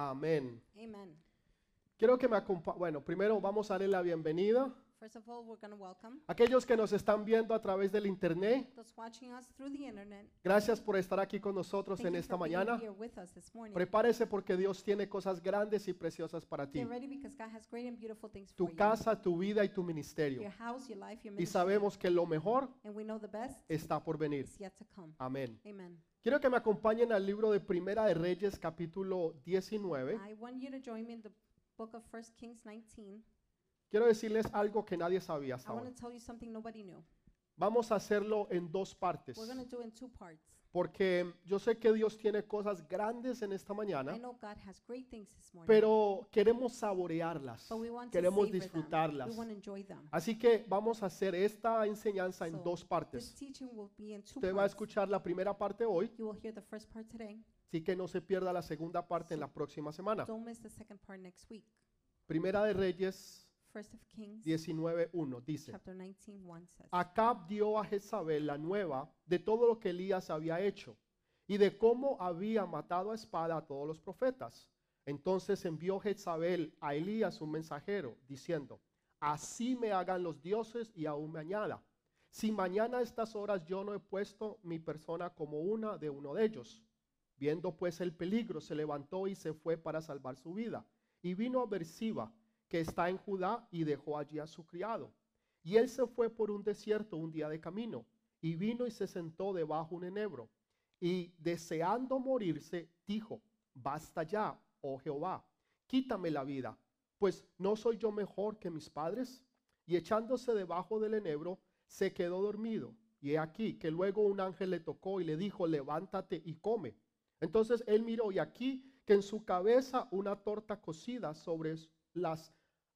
Amén. Amen. Quiero que me acompañen. Bueno, primero vamos a darle la bienvenida First of all, we're going to welcome a aquellos que nos están viendo a través del internet. those watching us through the internet. Gracias por estar aquí con nosotros Thank en you esta for being mañana. here with us this morning. Prepárese porque Dios tiene cosas grandes y preciosas para ti. Get ready because God has great and beautiful things for Tu you. casa, tu vida y tu ministerio. Your house, your life, your Y ministry. sabemos que lo mejor And we know the best está por venir. is yet to come. Amén. Amen. Quiero que me acompañen al libro de Primera de Reyes, capítulo 19. I want you to join me in the book of 1 Kings 19. Quiero decirles algo que nadie sabía hasta I want ahora. to tell you something nobody knew. Vamos a hacerlo en dos partes, We're going to do it in two parts. porque yo sé que Dios tiene cosas grandes en esta I mañana, know God has great things this morning, pero queremos saborearlas, but we want to queremos savor them. disfrutarlas. We want to enjoy them. Así que vamos a hacer esta enseñanza en So, dos This partes. teaching will be in two Usted va a parts. escuchar la primera parte hoy, You will hear the first part today. así que no se pierda la segunda parte en la próxima semana. Don't miss the second part next week. Primera de Reyes First of Kings 19:1 dice: chapter 19:1 says, Acab dio a Jezabel la nueva de todo lo que Elías había hecho y de cómo había matado a espada a todos los profetas. Entonces envió Jezabel a Elías un mensajero diciendo: Así me hagan los dioses y aún me añada, si mañana a estas horas yo no he puesto mi persona como una de uno de ellos. Viendo pues el peligro, se levantó y se fue para salvar su vida. Y vino a Beersiba, que está en Judá, y dejó allí a su criado. Y él se fue por un desierto un día de camino, y vino y se sentó debajo un enebro. Y deseando morirse, dijo: Basta ya, oh Jehová, quítame la vida, pues no soy yo mejor que mis padres. Y echándose debajo del enebro, se quedó dormido. Y he aquí que luego un ángel le tocó y le dijo: Levántate y come. Entonces él miró, y aquí que en su cabeza una torta cocida sobre las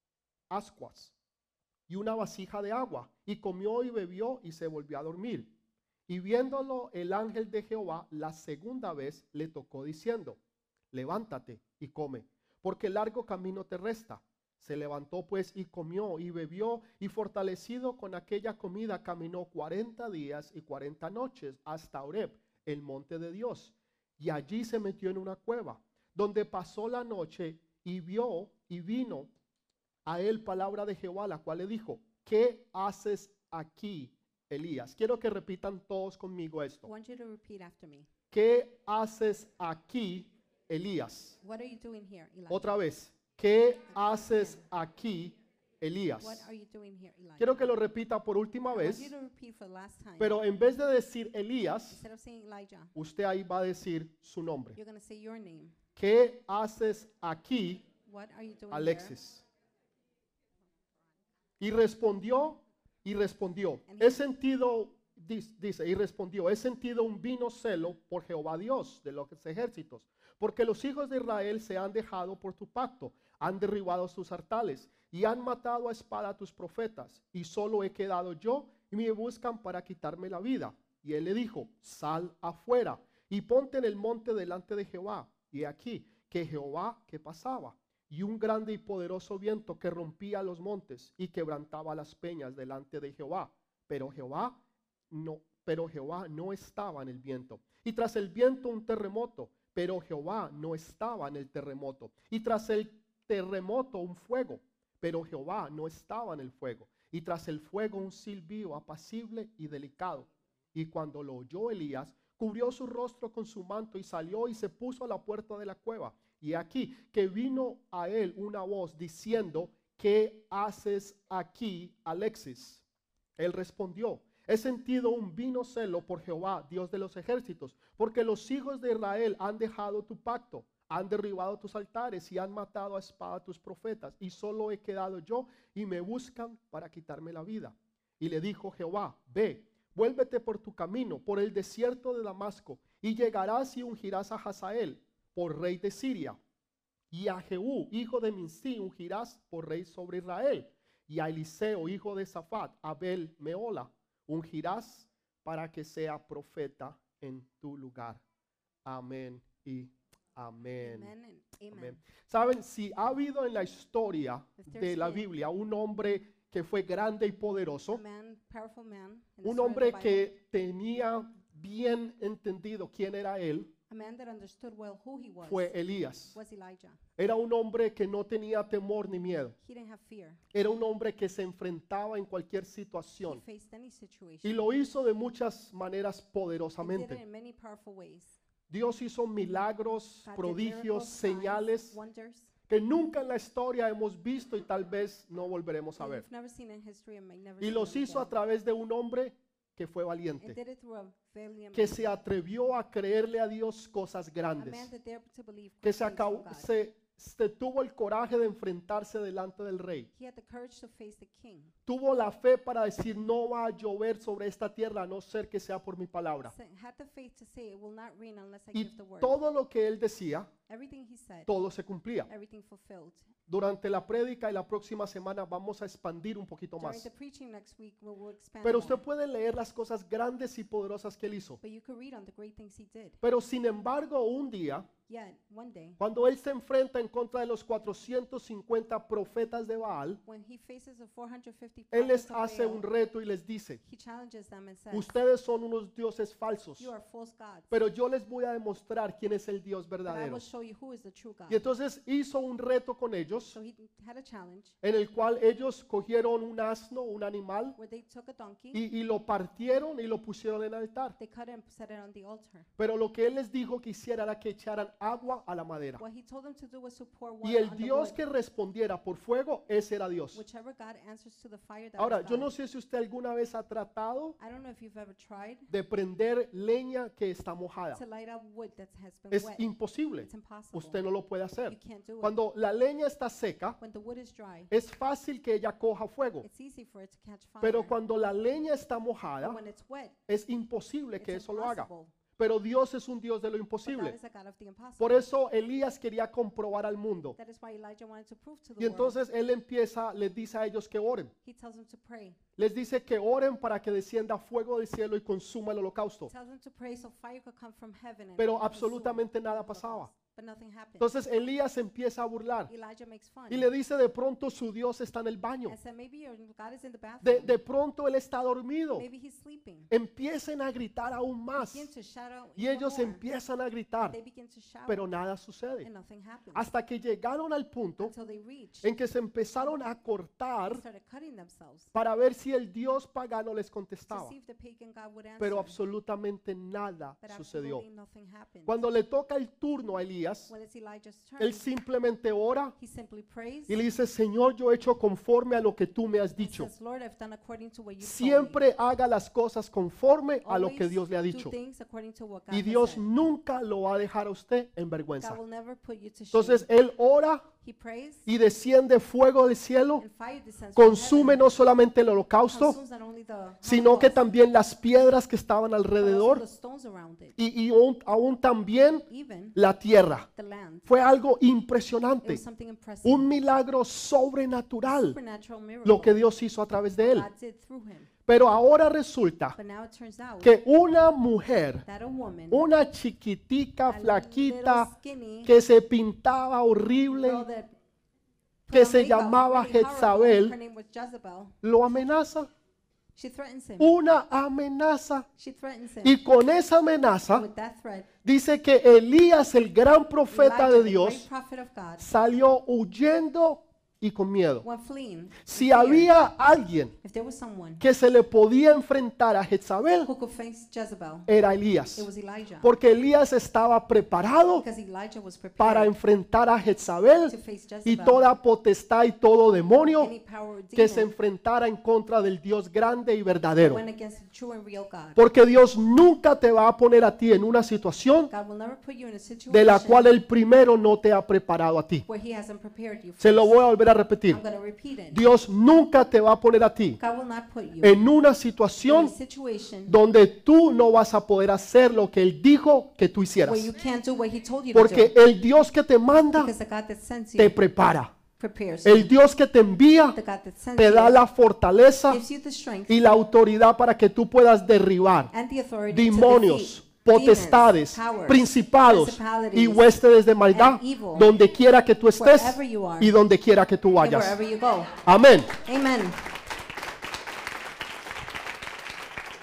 ascuas y una vasija de agua, y comió y bebió y se volvió a dormir. Y viéndolo el ángel de Jehová la segunda vez le tocó diciendo: Levántate y come, porque largo camino te resta. Se levantó pues y comió y bebió, y fortalecido con aquella comida caminó 40 días y 40 noches hasta Horeb, el monte de Dios. Y allí se metió en una cueva, donde pasó la noche, y vio y vino a él palabra de Jehová, la cual le dijo: ¿Qué haces aquí, Elías? Quiero que repitan todos conmigo I esto. want you to repeat after me. ¿Qué haces aquí, Elías? What are you doing here, Elijah? Otra vez. ¿Qué haces aquí, Elías? What are you doing here, Elijah? Quiero que lo repita por última I want vez, you to repeat for the last time. pero en vez de decir Elías, Instead of saying Elijah, usted ahí va a decir su nombre. you're going to say your name. ¿Qué haces aquí, What are you doing Alexis? Y respondió, he sentido, dice, y respondió: he sentido un vino celo por Jehová Dios de los ejércitos, porque los hijos de Israel se han dejado por tu pacto, han derribado sus altares y han matado a espada a tus profetas, y solo he quedado yo, y me buscan para quitarme la vida. Y él le dijo: sal afuera y ponte en el monte delante de Jehová. Y aquí que Jehová que pasaba, y un grande y poderoso viento que rompía los montes y quebrantaba las peñas delante de Jehová. Pero Jehová no estaba en el viento. Y tras el viento un terremoto, pero Jehová no estaba en el terremoto. Y tras el terremoto un fuego, pero Jehová no estaba en el fuego. Y tras el fuego un silbido apacible y delicado. Y cuando lo oyó Elías, cubrió su rostro con su manto y salió y se puso a la puerta de la cueva. Y aquí que vino a él una voz diciendo: ¿qué haces aquí, Alexis? Él respondió: he sentido un vino celo por Jehová, Dios de los ejércitos, porque los hijos de Israel han dejado tu pacto, han derribado tus altares y han matado a espada a tus profetas, y solo he quedado yo, y me buscan para quitarme la vida. Y le dijo Jehová: ve, vuélvete por tu camino, por el desierto de Damasco, y llegarás y ungirás a Hazael por rey de Siria, y a Jehú, hijo de Minsi, ungirás por rey sobre Israel, y a Eliseo, hijo de Safat, Abel Meola, ungirás para que sea profeta en tu lugar. Amén y amén. Amen and amen. Amén. Saben, si ha habido en la historia de la Biblia un hombre que fue grande y poderoso, Powerful man, in the un story of the hombre Bible, que tenía bien entendido quién era él, A man that understood well who he fue Elías. was Elijah. Era un hombre que no tenía temor ni miedo. He didn't have fear. Era un hombre que se enfrentaba en cualquier He situación faced any situation. y lo hizo de muchas maneras He did it poderosamente. in many powerful ways. Dios hizo milagros, God did prodigios, miracles, signs, señales wonders que nunca en la historia hemos visto y tal vez no volveremos a that ver. we've never seen in history and may never Y see los them hizo a again. través de un hombre que fue And valiente, did it through a valiant que man. se atrevió a creerle a Dios cosas A grandes, man that dared to believe que great se, things from acabó- God. se tuvo el coraje de enfrentarse delante del rey. He had the courage to face the king. Tuvo la fe para decir no va a llover sobre esta tierra a no ser que sea por mi palabra. Had the faith to say it will not rain unless I Y give the word. todo lo que él decía, Everything he said, todo se cumplía. everything fulfilled. Durante la prédica y la próxima semana vamos a expandir un poquito During más. the preaching next week, we'll expand Pero more. usted puede leer las cosas grandes y poderosas que él hizo. But you could read on the great things he did. Pero sin embargo, un día, Yet, one day, cuando él se enfrenta en contra de los 450 profetas de Baal, when he faces the 450 él les prophets of hace Baal, un reto y les dice, he challenges them and says, ustedes son unos dioses falsos, you are false gods, pero yo les voy a demostrar quién es el Dios but I verdadero. will show you who is the true God. Y entonces hizo un reto con ellos, So he had a challenge en el cual ellos cogieron un asno, un animal, where they took a donkey, y lo partieron y lo pusieron en el altar. they cut it and set it on the altar. Pero lo que él les dijo que hiciera era que echaran agua a la madera. What he told them to do was to pour Y water el on the Dios wood. que respondiera por fuego, ese era Dios. Whichever God answers to the fire, that Ahora, is yo God. no sé si usted alguna vez ha tratado I don't know if you've ever tried de prender leña que está mojada. to light up wood that has been Es wet. imposible. It's impossible. Usted no lo puede You hacer. can't do it. Cuando la leña está seca, When the wood is dry, es fácil que ella coja fuego. it's easy for it to catch fire. Pero cuando la leña está But mojada, when it's wet, es imposible it's que eso lo haga. impossible. Pero Dios es un Dios de lo But God imposible. is a God of the impossible. Por eso Elías quería comprobar al mundo. That is why Elijah wanted to prove to the Y entonces él empieza, les dice a ellos que oren. world. He tells them to pray. Les dice que oren para que descienda fuego del cielo y consuma el holocausto. He tells them to pray so fire could come from heaven and Pero consume absolutamente nada the pasaba. holocaust. But nothing happened. Entonces Elías empieza a burlar Elijah makes fun y le dice de pronto su Dios está en el baño. and said, maybe your God is in the bathroom. De pronto él está dormido. Maybe he's sleeping. Empiecen a gritar aún más. Begin to shout out Y even ellos more. empiezan a gritar, They begin to shout, pero nada sucede. and nothing happens. Hasta que llegaron al punto Until they reached, en que se empezaron a they cortar started cutting themselves para ver si el Dios pagano les to contestaba. see if the pagan God would answer. Pero absolutamente nada But sucedió. absolutely nothing happened. Cuando le toca el turno a Elías, When it's Elijah's turn, él simplemente ora he simply prays y le dice, Señor, yo he hecho conforme a lo que tú me has and dicho. says, Lord, I've done according to what you told me. Siempre haga las cosas conforme a lo que Always Dios le ha do dicho. things according to what God Y has Dios said. nunca lo va a dejar a usted en God vergüenza. will never put you to shame. Entonces él ora He prays y desciende fuego del cielo, and fire descends from consume heaven. no solamente el holocausto, Consumes not only the sino que holocaust, también las piedras que estaban but also alrededor the stones around it, y aún también even la tierra. the land. Fue algo It impresionante, was something impressive. un milagro sobrenatural Supernatural miracle lo que Dios hizo a través de él. God did through him. Pero ahora resulta But now it turns out que una mujer, that a woman, una chiquitica, a flaquita, little skinny que se pintaba horrible, girl that put que on se makeup llamaba really horrible, Jezabel, her name was Jezebel. lo amenaza. She threatens him. Una amenaza. She threatens him. Y con esa amenaza With that threat, dice que Elías, el gran profeta Elijah, de the Dios, great prophet of God, salió huyendo y con miedo. went fleeing. in Si fear. había alguien If there was someone que se le podía enfrentar a Jezabel, who could face Jezebel, era Elías. it was Elijah. Porque Elías estaba preparado Because Elijah was para prepared enfrentar a Jezabel to face y Jezebel, toda potestad y todo demonio any power or que se demon enfrentara en contra del Dios grande y that verdadero. went against the true and real God. Porque Dios nunca te va a poner a ti en una situación God will never put you in a de la situation cual el primero no te ha preparado a ti. where He hasn't prepared you. Se lo first. voy a volver a repetir. I'm going to repeat it. Dios nunca te va a poner a ti God will not put you en una in a situación situation donde tú no vas a poder hacer lo que Él dijo que tú hicieras. where you can't do what He told you to Porque do. el Dios que te manda Because the God that sends te you prepara. prepares El you. Dios que te envía The God that sends te da you la fortaleza gives you the strength y la autoridad para que tú puedas derribar and the authority demonios, to defeat potestades, demons, powers, principados y principalities, huestes de maldad and evil, donde quiera que tú estés wherever you are y donde quiera que tú and vayas. wherever you go. Amén. Amen.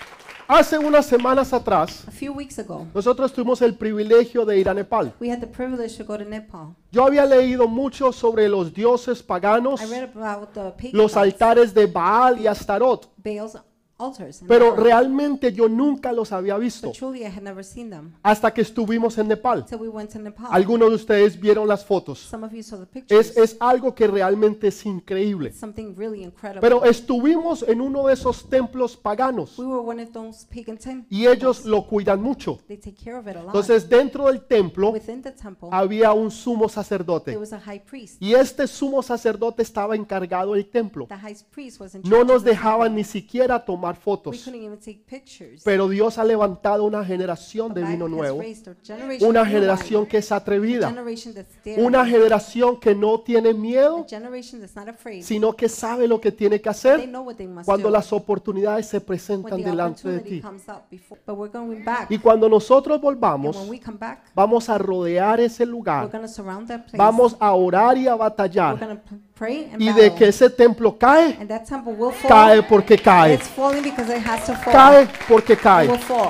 Hace unas semanas atrás, A few weeks ago, nosotros tuvimos el privilegio de ir a Nepal. we had the privilege to go to Nepal. Yo había leído mucho sobre los dioses paganos, I read about the pagan los gods, altares de Baal y Astarot, Baal's altars, and pero Baal. realmente yo nunca los había visto But truly I had never seen them hasta que estuvimos en Nepal. till we went to Nepal. Algunos de ustedes vieron las fotos. Some of you saw the pictures. Es algo que realmente es increíble. Something really incredible. Pero estuvimos en uno de esos templos paganos We were one of those pagan temples. y ellos lo cuidan mucho. They take care of it a lot. Entonces dentro del templo Within the temple, había un sumo there sacerdote was a high priest. y este sumo sacerdote estaba encargado del templo. The high priest was in No charge nos of the dejaban temple. ni siquiera tomar We fotos, couldn't even take pictures. pero Dios ha levantado una generación de God vino has nuevo, raised a generation una of new generación wine, que es a atrevida, generation that's daring, una generación que no tiene a miedo, generation that's not afraid. sino que sabe lo que tiene que They hacer know what they must cuando do las oportunidades se when presentan the delante de opportunity ti. comes up before. But we're going back. Y cuando nosotros And volvamos, when we come back, vamos a rodear ese we're lugar, going to surround that place. vamos a orar y a We're batallar. going to pray and Y de battle. que ese templo cae, And that temple will fall. cae porque cae. It's falling because it has to fall. Cae porque It will cae. fall.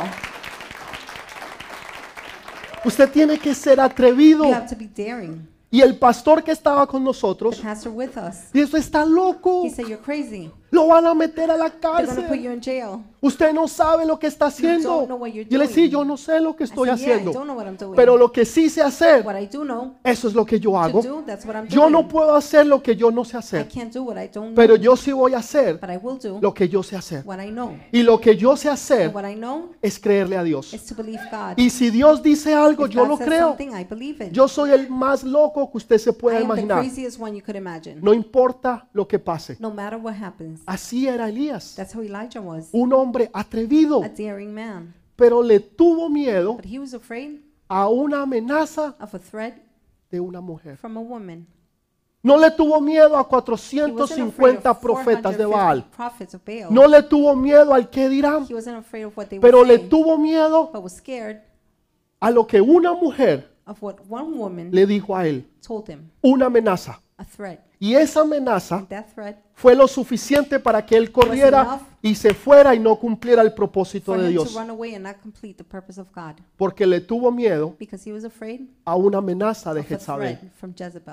Usted tiene que ser atrevido. You have to be daring. Y el pastor que estaba con The nosotros, pastor with us, y eso está loco. he said, "You're crazy. Lo van a meter a la They're going to put cárcel. you in jail." Usted no sabe lo que está don't haciendo. know what you're Yo le decía, doing. yo no sé lo que I estoy said, "Yeah, I haciendo. don't know what I'm doing. Pero lo que sí sé hacer, What I do know eso es lo que yo to hago. do, that's what I'm Yo doing. no puedo hacer lo que yo no sé I hacer. can't do what I don't Pero know, yo sí voy a hacer but I will do lo que yo sé hacer. what I know. Y lo que yo sé And hacer what I know es creerle a Dios. is to believe God. Y si Dios dice algo, If yo God lo says creo. something, I believe it. Yo soy el más loco que usted se I pueda am the imaginar. craziest one you could imagine. No importa lo que pase. No matter what happens. Así era Elías, That's how Elijah was. un hombre atrevido, A daring man. pero le tuvo miedo But he was afraid a una amenaza of a threat de una mujer. from a woman. No le tuvo miedo a He wasn't afraid 450 of profetas de 450 Baal. prophets of Baal. No le tuvo miedo al que dirán, He wasn't afraid of what they pero would le say, tuvo miedo but was scared a lo que una mujer of what one woman le dijo a él, told him, una amenaza. a threat. Y esa amenaza And that threat fue lo suficiente para que él corriera y se fuera y no cumpliera el propósito for de him Dios, to run away and not complete the purpose of God, porque le tuvo miedo because he was afraid a una amenaza de of a Jezabel. threat from Jezebel.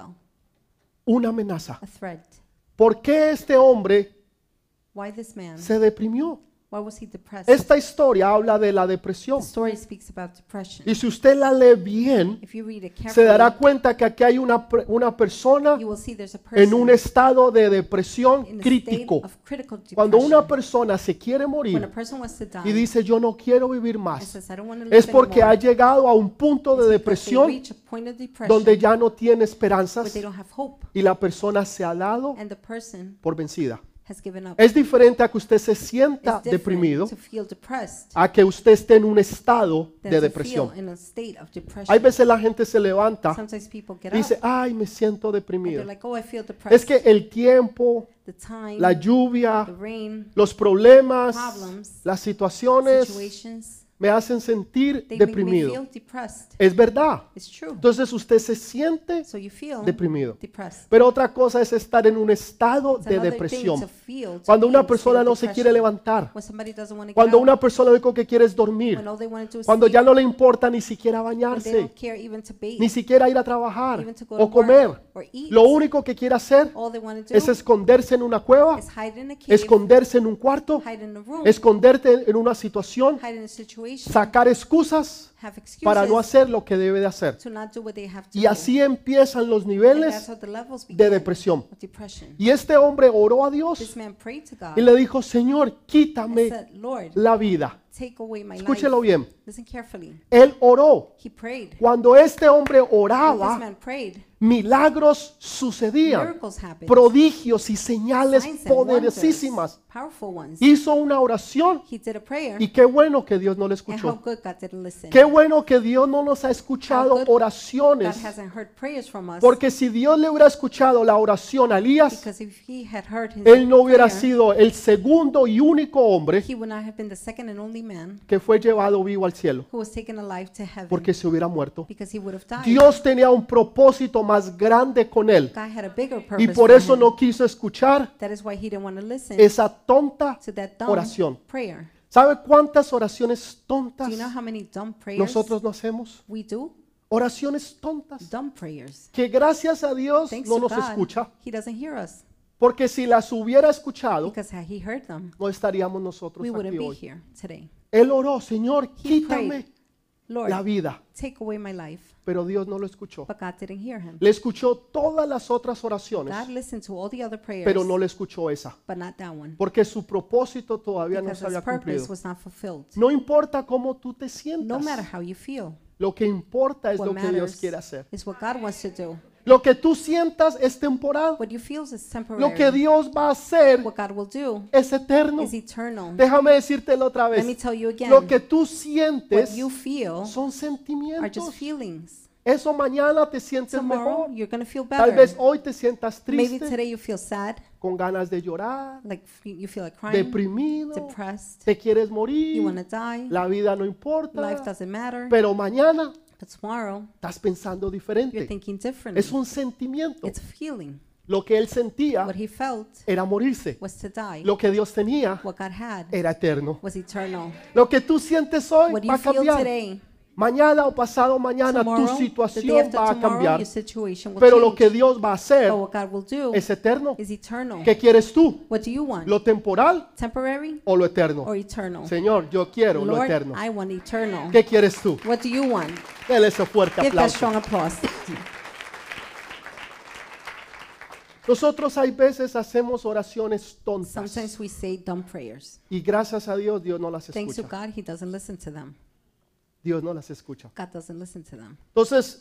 Una amenaza. A threat. ¿Por qué este hombre Why this man? se deprimió? Why was he depressed? Esta historia habla de la depresión. The story speaks about depression. Y si usted la lee bien, If you read it se dará carefully, cuenta que aquí hay una persona you will see there's a en un person estado de depresión in a state crítico. of critical Cuando una depression. persona se quiere When a morir person wants to y die dice yo no quiero vivir and más, says, "I don't want to live es porque ha anymore," llegado a un punto de it's because they depresión reach a point of depression donde ya no tiene where esperanzas they don't have hope, y la persona se ha dado and the person por vencida. has given up. Es diferente a que usted se It's sienta different deprimido to feel depressed a que usted esté en un estado than de to depresión. feel in a state of depression. Hay veces la gente se levanta Sometimes people get y dice, up ay, me siento and deprimido. they're like, "Oh, I feel Es depressed." que el tiempo, The time, la lluvia, the rain, los problemas, problems, las situaciones situations, me hacen sentir they make me deprimido. feel depressed. Es verdad. It's true. Entonces usted se siente So you feel deprimido. depressed. Pero otra cosa es estar en un estado It's de another thing depresión. to feel, to Cuando be una in a persona state no of se quiere depression. levantar. When somebody doesn't want to get Cuando out, una persona lo único que quiere es dormir. when all they want to do is Cuando sleep, ya no le importa ni siquiera when they bañarse, don't care even to bathe, ni siquiera ir a trabajar even to go to o comer. work or eat, Lo único que quiere hacer all they want to es do esconderse en una cueva, is hide in a cave, esconderse en un cuarto, hide in a room, esconderte en una situación, hide in a situation, sacar excusas have para no excuses hacer lo que debe de hacer. to not do what they have to Y do. así empiezan los And that's niveles how the levels de begin depresión. of depression. Y este hombre oró a Dios This man prayed to God y le dijo, Señor, and quítame said, "Lord, la vida. take away my Escúchelo life." bien. Listen carefully. Él oró. He prayed. Cuando este hombre When this oraba, man prayed, milagros sucedían, miracles happened. prodigios y señales Signs and wonders, poderosísimas. powerful ones. Hizo una oración He did a prayer, y qué bueno que Dios no le and how escuchó. good God didn't listen. Qué bueno que Dios no nos ha escuchado How good God oraciones, hasn't heard prayers from us, porque si Dios le hubiera escuchado la oración a Elías, because if he had heard his él no hubiera prayer, sido el segundo y único hombre he would not have been the second and only man que fue llevado vivo al cielo, who was taken alive to heaven, porque se hubiera muerto. because he would have died. Dios tenía un propósito más grande con él God had a bigger y purpose por for eso him. no quiso escuchar That is why he didn't want to listen esa tonta to that dumb oración. prayer. ¿Sabe cuántas oraciones Do tontas you know how many dumb prayers nosotros no hacemos? we do? Oraciones tontas Dumb prayers. que gracias a Dios Thanks no to nos God, escucha, He doesn't hear us. porque si las hubiera escuchado, Because had He heard them, no estaríamos nosotros we wouldn't aquí be hoy. here today. Él oró, Señor, He quítame prayed, Lord, la vida, take away my life. pero Dios no lo escuchó. But God didn't hear him. Le escuchó todas las otras oraciones, God listened to all the other prayers, pero no le escuchó esa, but not that one. porque su propósito todavía no Because se His había purpose cumplido. was not fulfilled. No importa cómo tú te No sientas, matter how you feel, lo que importa es what lo que Dios matters quiere hacer. is what God wants to do. Lo que tú sientas es temporal. What you feel is Lo que temporary. Dios va a hacer What God will do es eterno. is eternal. Déjame decírtelo otra Let me vez. tell you again, Lo que tú what sientes you feel son are just sentimientos. feelings. Eso mañana te sientes Tomorrow, mejor. you're going to feel Tal vez better. hoy te sientas Maybe triste, today you feel sad, con ganas de llorar, like you feel like crying, deprimido, depressed, te quieres you morir, want to die, la vida no life importa, doesn't matter. pero mañana But tomorrow, estás pensando you're diferente. thinking differently. Es un sentimiento. It's a feeling. Lo que él sentía What he felt era morirse. was to die. Lo que Dios tenía What God had era eterno. was eternal. Lo que tú sientes hoy What va you a feel cambiar. today, Mañana o pasado mañana tu tomorrow, the day situación after va a tomorrow, cambiar. your situation will Pero lo que change. Dios va a hacer But what God will do es eterno. is eternal. ¿Qué quieres tú? What do you want? ¿Lo temporal Temporary o lo eterno? or eternal? Señor, yo quiero lo Lord, eterno. I want eternal. ¿Qué quieres tú? What do you want? Dele ese fuerte Give that aplauso. strong applause. Nosotros hay veces hacemos oraciones tontas Sometimes we say dumb prayers. y gracias a Dios Dios no las Thanks to escucha. God, He doesn't listen to them. Dios no las escucha. God doesn't listen to them. Entonces,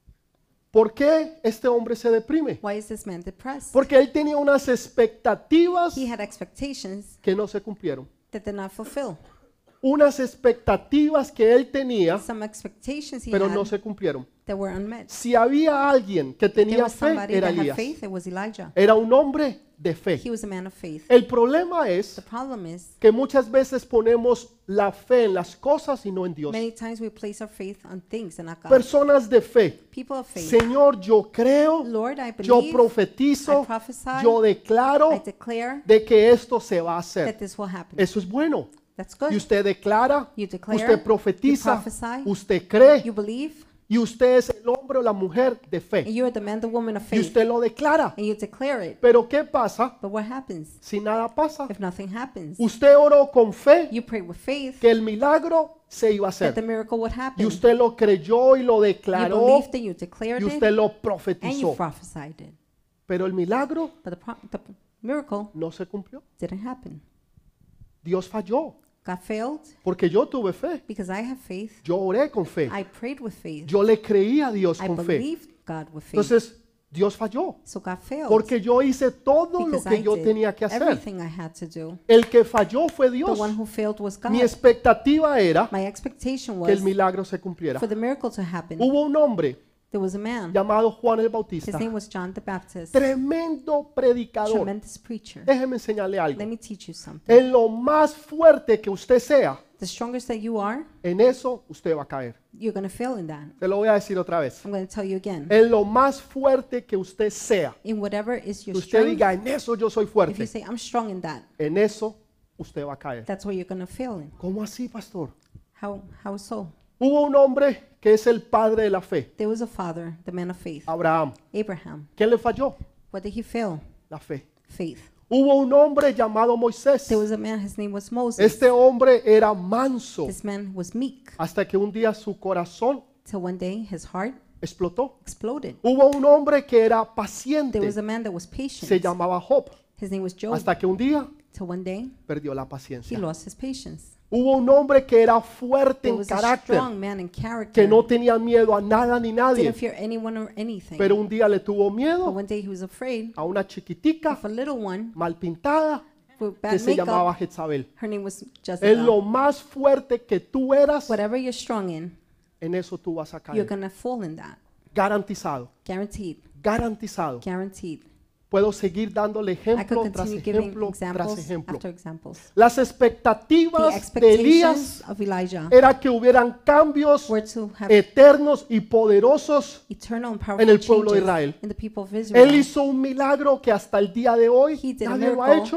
¿por qué este hombre se deprime? Why is this man depressed? Porque él tenía unas expectativas He had expectations que no se cumplieron. that did not fulfill. Unas expectativas que él tenía, Some expectations he pero had no se cumplieron. that were unmet. Si había alguien que There tenía was fe, somebody era that had Elías. faith, it was Elijah. Era un hombre de fe. He was a man of faith. El problema The es problem is, que muchas veces ponemos la fe en las cosas y no en Dios. many times we place our faith on things and not God. Personas de fe. People of faith. Señor, yo creo, Lord, I yo believe, profetizo, I prophesy, yo I declaro declare de que esto se va a hacer. that this will happen. Eso es bueno. That's Y good. usted declara, You declare, usted you profetiza, prophesy, usted cree you believe, y usted es el hombre o la mujer de and fe. you're the man, the woman of Y faith, usted lo declara. and you declare it. Pero ¿qué pasa But what happens si nada pasa? if nothing happens? Usted oró con fe You pray with faith que el milagro se iba a that the hacer. miracle would Y happen. usted lo creyó y lo You declaró believed it, you declared y it, usted lo and you profetizó. prophesied it. Pero el milagro But the miracle no se cumplió. didn't happen. Dios falló God failed porque yo tuve fe. because I have faith. Yo oré con fe. I prayed with faith. Yo le creí a Dios I con fe. believed God with faith. Entonces, Dios falló So God failed porque yo hice todo lo because que I yo did tenía que hacer. everything I had to do. El que falló fue The Dios. one who failed was God. Mi expectativa era My expectation que el was milagro se cumpliera. for the miracle to happen. Hubo un hombre There was a man. llamado Juan el His Bautista, name was John the Baptist. tremendo predicador. Tremendous preacher. Déjeme enseñarle algo. Let me teach you something. En lo más fuerte que usted sea, The strongest that you are, en eso usted va a caer. you're going to fail in that. Se lo voy a decir otra vez. I'm going to tell you again. En lo más fuerte que usted sea, In whatever is que your usted strength, diga, en eso yo soy if you fuerte, say, I'm strong in that, en eso usted va a caer. that's where you're going to fail in. ¿Cómo así, pastor? How so? Hubo un hombre que es el padre de la fe, There was a father, the man of faith, Abraham. Abraham. ¿Qué le falló? What did he fail? La fe. Faith. Hubo un hombre llamado Moisés. There was a man, his name was Moses. Este hombre era manso This man was meek, hasta que un día su corazón till one day his heart explotó. exploded. Hubo un hombre que era There paciente, was a man that was se patient. llamaba Job, His name was Job. hasta que un día Till one day perdió la he paciencia. lost his patience. Hubo un hombre que era fuerte There en was a carácter, strong man in que character. no tenía miedo a nada ni nadie, Didn't fear anyone or anything. pero un día le tuvo But miedo one day he was afraid a una chiquitica of a little one mal pintada with que bad se llamaba makeup. Jezabel. Her name was En lo Jezebel. más fuerte que tú eras, Whatever you're strong in, en eso tú vas a you're caer. going to fall in that. Garantizado, Guaranteed. garantizado. Guaranteed. Puedo seguir dándole I could ejemplo tras continue giving ejemplo tras examples ejemplo. after examples. Las The expectativas de Elías expectations of Elijah era que hubieran cambios were to have eternos y poderosos. eternal and en powerful el pueblo de changes Israel. in the people of Él Israel. hizo un milagro que hasta el día de hoy He did a nadie lo ha miracle hecho.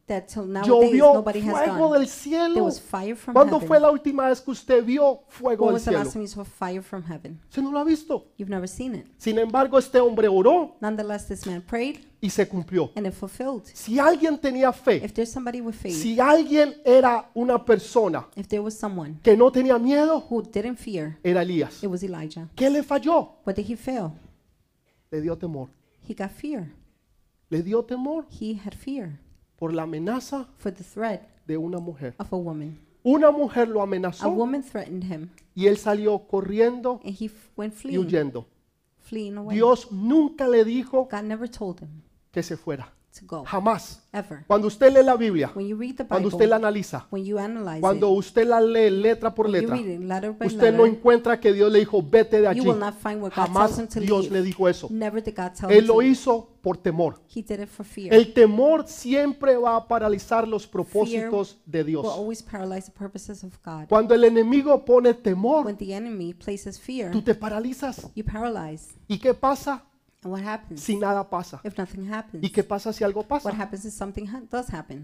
that till nowadays Llovió nobody has fuego done. del There cielo. was fire from ¿Cuándo fue heaven. la última vez que usted vio fuego When del was the cielo? last time you saw fire from heaven? Usted no lo ha visto. You've never seen it. Sin embargo, este hombre oró Nonetheless, this man prayed y se cumplió. and it fulfilled. Si alguien tenía fe, If there's somebody with faith, si alguien era una persona if there was someone que no tenía miedo, who didn't fear, era Elías. it was Elijah. ¿Qué le falló? What did he fail? Le dio temor. He got fear. Le dio temor He had fear por la amenaza for the threat de una mujer. of a woman. Una mujer lo A amenazó woman threatened him y él salió corriendo and he went y fleeing, huyendo. fleeing away. Dios nunca le dijo God never told him que se fuera. to go, Jamás. ever. Cuando usted lee la Biblia, When you read the cuando usted la Bible, analiza, when you analyze cuando it, usted la lee letra por when you letra, read it letter by usted no letter, encuentra que Dios le dijo, vete de you allí. will not find where God tells Jamás him to Dios le leave. dijo eso. Never did God tell Él him to lo leave. hizo por temor. He did it for fear. El temor siempre va a paralizar los propósitos de Will Dios. always paralyze the purposes of God. Cuando el enemigo pone temor, When the enemy places fear, tú te paralizas. you paralyze. ¿Y qué pasa And what happens si nada pasa? if nothing happens? ¿Y qué pasa si algo What pasa? happens if something does happen?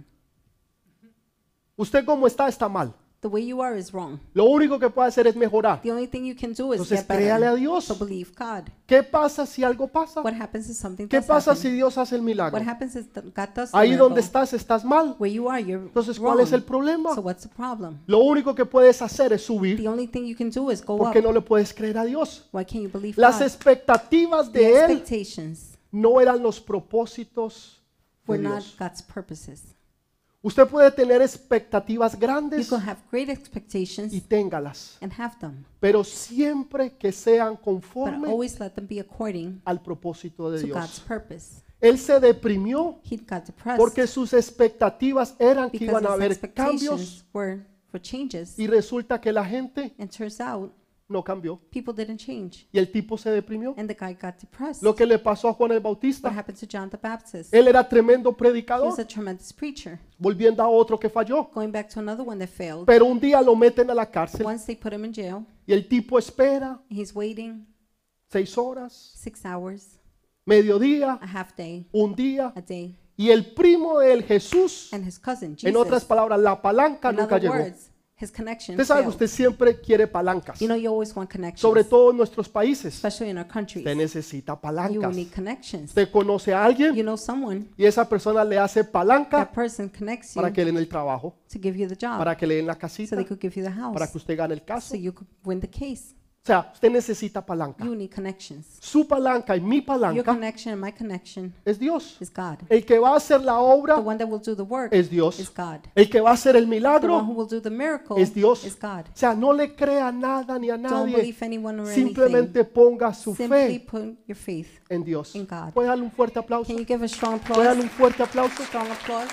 Usted como está mal. The way you are is wrong. Lo único que puede hacer es mejorar. The only thing you can do is Entonces get créale a better. Dios. So believe God. ¿Qué pasa si algo pasa? What happens if something ¿Qué does pasa si happen? Dios hace el milagro? What happens if God does the Ahí donde miracle? estás mal. Where you are, you're Entonces, wrong. ¿cuál es el problema? So what's the problem? Lo único que puedes hacer es subir The only thing you can do is go porque up. no le puedes creer a Dios. Why can't you believe Las God? expectativas The de él expectations no eran los propósitos de were not Dios. God's purposes. Usted puede tener expectativas You grandes can have great expectations y téngalas, and have them, pero siempre que sean but conforme always let them be according al propósito de to God's Dios. purpose. Él se deprimió He got depressed porque sus expectativas eran que because iban a his haber cambios expectations were for changes, y resulta que la gente and turns out no cambió people didn't change, y el tipo se deprimió. and the guy got depressed. Lo que le pasó a Juan el What Bautista, happened to John the Baptist? él era tremendo He was predicador, a tremendous preacher. volviendo a otro que falló. Going back to another one that failed. Pero un día lo meten a la cárcel Once they put him in jail, y el tipo espera he's waiting 6 horas, 6 hours, mediodía, a half day, un día, a day, y el primo de él, Jesús, and his cousin, en otras Jesus, palabras, la palanca in nunca other llegó. words, his connection Usted sabe que failed. usted siempre quiere palancas, You know you always want connections, sobre todo en nuestros países. especially in our countries. Usted necesita You palancas. need connections. Usted conoce a alguien You know someone, y esa persona le hace palanca that person connects you para que le den el trabajo, to give you the job, para que le den la so casita, they could give you the house, para que usted gane el caso. so you could win the case. O sea, usted necesita palanca. You need connections. Su palanca y mi Your palanca connection and my connection es Dios. is God. El que va a hacer la The obra one that will do the work es is Dios. God. El que va a hacer el The one who milagro will do the miracle es Dios. is God. O sea, no le crea nada ni a Don't nadie. believe anyone or Simplemente anything. ponga su Simply fe put your faith en Dios. in God. ¿Puede darle un fuerte aplauso? Can you give a strong ¿Puede darle applause? un fuerte aplauso? Strong applause.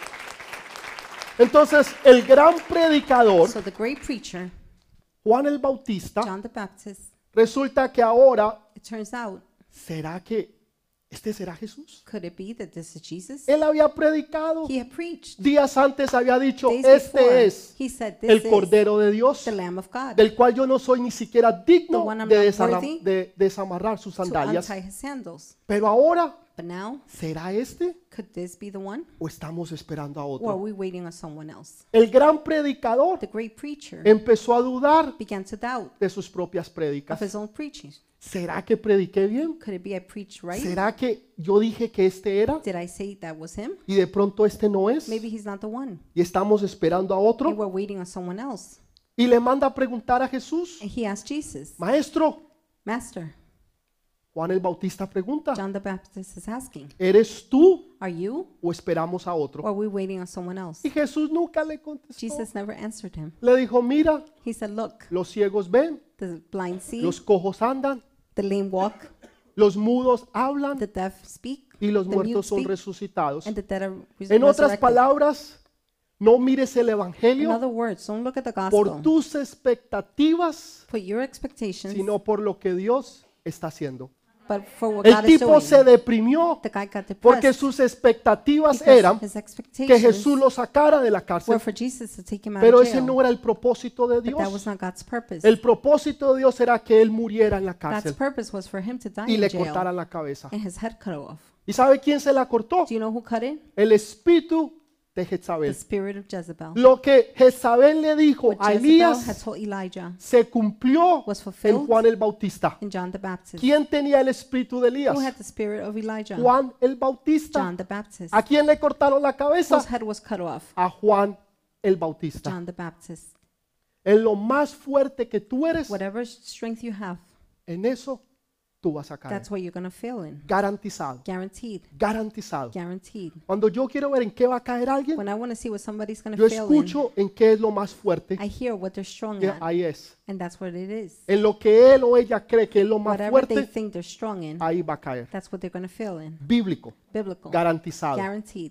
Entonces, el gran predicador, So the great preacher, Juan el Bautista, John the Baptist, resulta que ahora, it turns out, ¿será que este será Jesús? could it be that this is Jesus? Él había predicado. He had preached. Días antes había dicho, Days before, este es he said, el this is Cordero de Dios, the Lamb of God del cual yo no soy ni siquiera digno The one I'm de, not worthy de desamarrar sus to sandalias. untie his sandals. Pero ahora, But now, ¿será este could this be the one? o estamos esperando a Or are otro? we waiting on someone else? El gran predicador The great preacher empezó a dudar began to doubt de sus propias of prédicas. his own preaching. ¿Será que prediqué bien? Could it be I preached right? ¿Será que yo dije que este era Did I say that was him? y de pronto este no es? Maybe he's not the one. Y estamos esperando a And otro. we're waiting on someone else. Y le manda a preguntar a Jesús, And he asked Jesus, Maestro, Master, Juan el Bautista pregunta, John the Baptist is asking, ¿eres tú are you o esperamos a or otro? are we waiting on someone else? Y Jesús nunca le contestó. Jesus never answered him. Le dijo, mira, He said, look, los ciegos ven, the blind see, los cojos andan, the lame walk, los mudos hablan the deaf speak, y los the mute muertos son speak, resucitados. and the dead are En otras resurrected. palabras, no mires el In evangelio other words, don't look at the por gospel. tus expectativas, Put your expectations, sino por lo que Dios está haciendo. but for what El God is tipo doing. se deprimió The guy got porque depressed sus expectativas because eran his que expectations Jesús lo sacara de la were cárcel, for Jesus to take him out pero of ese jail. no era el propósito de But that was Dios. not God's purpose. El propósito de Dios era que él muriera en la God's cárcel purpose was for him to die y in le jail cortaran la cabeza. and his head cut off. ¿Y sabe quién se la cortó? Do you know who cut it? El espíritu de the Jezabel. spirit of Jezebel. Lo que Jezabel le dijo What a Jezebel had Elías told Elijah se cumplió was en fulfilled Juan el Bautista. in John the Baptist. ¿Quién tenía el espíritu de Elías? Who had the spirit of Elijah? Juan el Bautista. John the Baptist. ¿A quién le cortaron la Whose cabeza? head was cut off? A Juan el Bautista. John the Baptist. En lo más fuerte que tú eres, Whatever strength you have, en eso tú vas a caer. that's what you're going to fail in. Garantizado. Guaranteed. Garantizado. Guaranteed. Cuando yo quiero ver en qué va a caer alguien, When I want to see what somebody's going yo to fail in, escucho en qué es lo más fuerte. I hear what they're strong Que at, ahí es. and that's what it is. En lo que él o ella cree que es lo más Whatever they fuerte, think they're strong in, ahí va a caer. that's what they're going to fail in. Bíblico. Biblical. Garantizado. Guaranteed.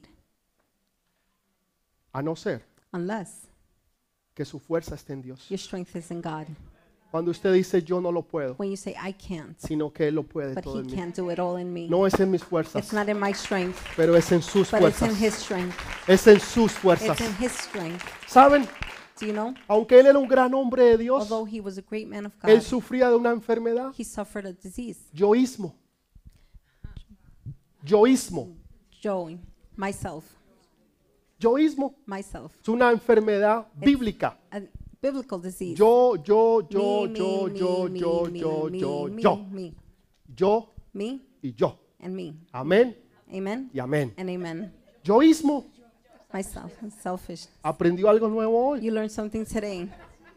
A no ser Unless que su fuerza esté en Dios. your strength is in God. Cuando usted dice yo no lo puedo, When you say, I can't, sino que Él lo puede but todo He en mí. can't do it all in me. No es en mis fuerzas, It's not in my strength, pero es en sus but it's in fuerzas. His strength. Es en sus fuerzas. It's in His strength. ¿Saben? Do you know? Aunque Él era un gran hombre de Dios, Although He was a great man of Él God, sufría de una enfermedad. He suffered a disease. Yoísmo. Yoísmo. Joey, myself, Yoísmo es una enfermedad bíblica. a biblical disease. Yo, Me yo y yo. and me. Amén Amen y amén. and amen. Yoísmo. Myself, I'm selfish. Aprendió algo nuevo hoy. You learned something today.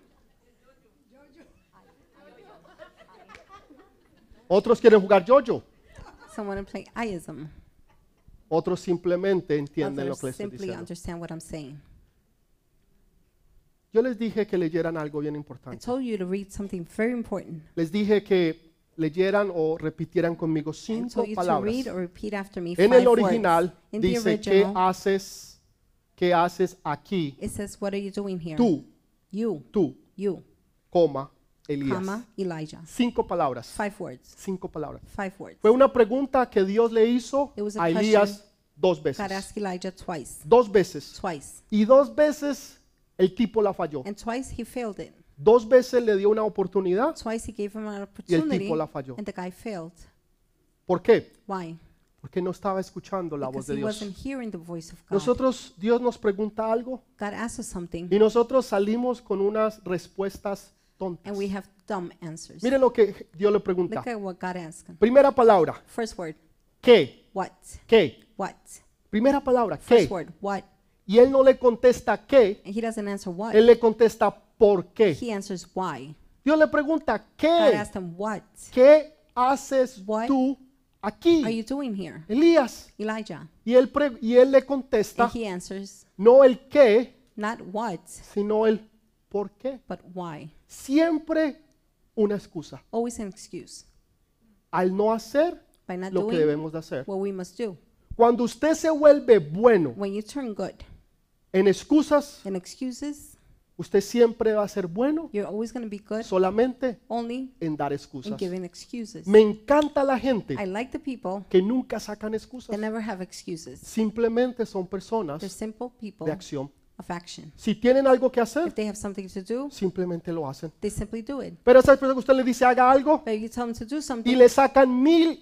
Otros quieren jugar yo-yo. Someone play ism. Otros simplemente entienden lo Others que les estoy simply diciendo. understand what I'm saying. Yo les dije que leyeran algo bien I importante. told you to read something very important. Les dije que leyeran o repitieran conmigo I 5 told you to palabras. read or repeat after me En 5 el original words. In the dice, original, ¿qué haces aquí? it says, what are you doing here? Tú, You, coma, Elías. comma, Elijah. 5 palabras. 5 words. 5 palabras. 5 words. Fue una pregunta que Dios le hizo It was a a Elías 2 God veces. asked Elijah twice. 2 veces. Twice. Y 2 veces el tipo la falló. And twice he failed it. 2 veces le dio una oportunidad Twice he gave him an y el opportunity, tipo la falló. and the guy failed. ¿Por qué? Why? Porque no estaba escuchando la voz Because de he wasn't Dios. hearing the voice of God. Nosotros, Dios nos pregunta algo God asks us something, y nosotros salimos con unas respuestas tontas. and we have dumb answers. Miren lo que Dios le pregunta. Look at what God asked him. Primera palabra, First word, ¿qué? what? ¿Qué? What? Primera palabra, First ¿qué? word, what? Y él no le contesta qué, And he doesn't answer what. él le contesta por qué. He answers why. Dios le pregunta, God ¿qué? asked him, what ¿Qué haces What tú are aquí, you doing here? Elías? Elijah. Y él le contesta, And he answers, no el qué, not what, sino el por qué. but why. Siempre una excusa Always an excuse. al no hacer By not lo que doing debemos de hacer. what we must do. Cuando usted se vuelve bueno When you turn good en excusas, and excuses, usted siempre va a ser bueno you're always going to be good solamente only en dar in excusas. giving excuses. Me encanta la gente I like the people que nunca sacan excusas. that never have excuses. Simplemente son They're personas simple people de acción. of action. Si tienen algo que hacer, If they have something to do, simplemente lo hacen. they simply do it. Pero esa persona que usted le dice haga algo But you tell them to do y something, le sacan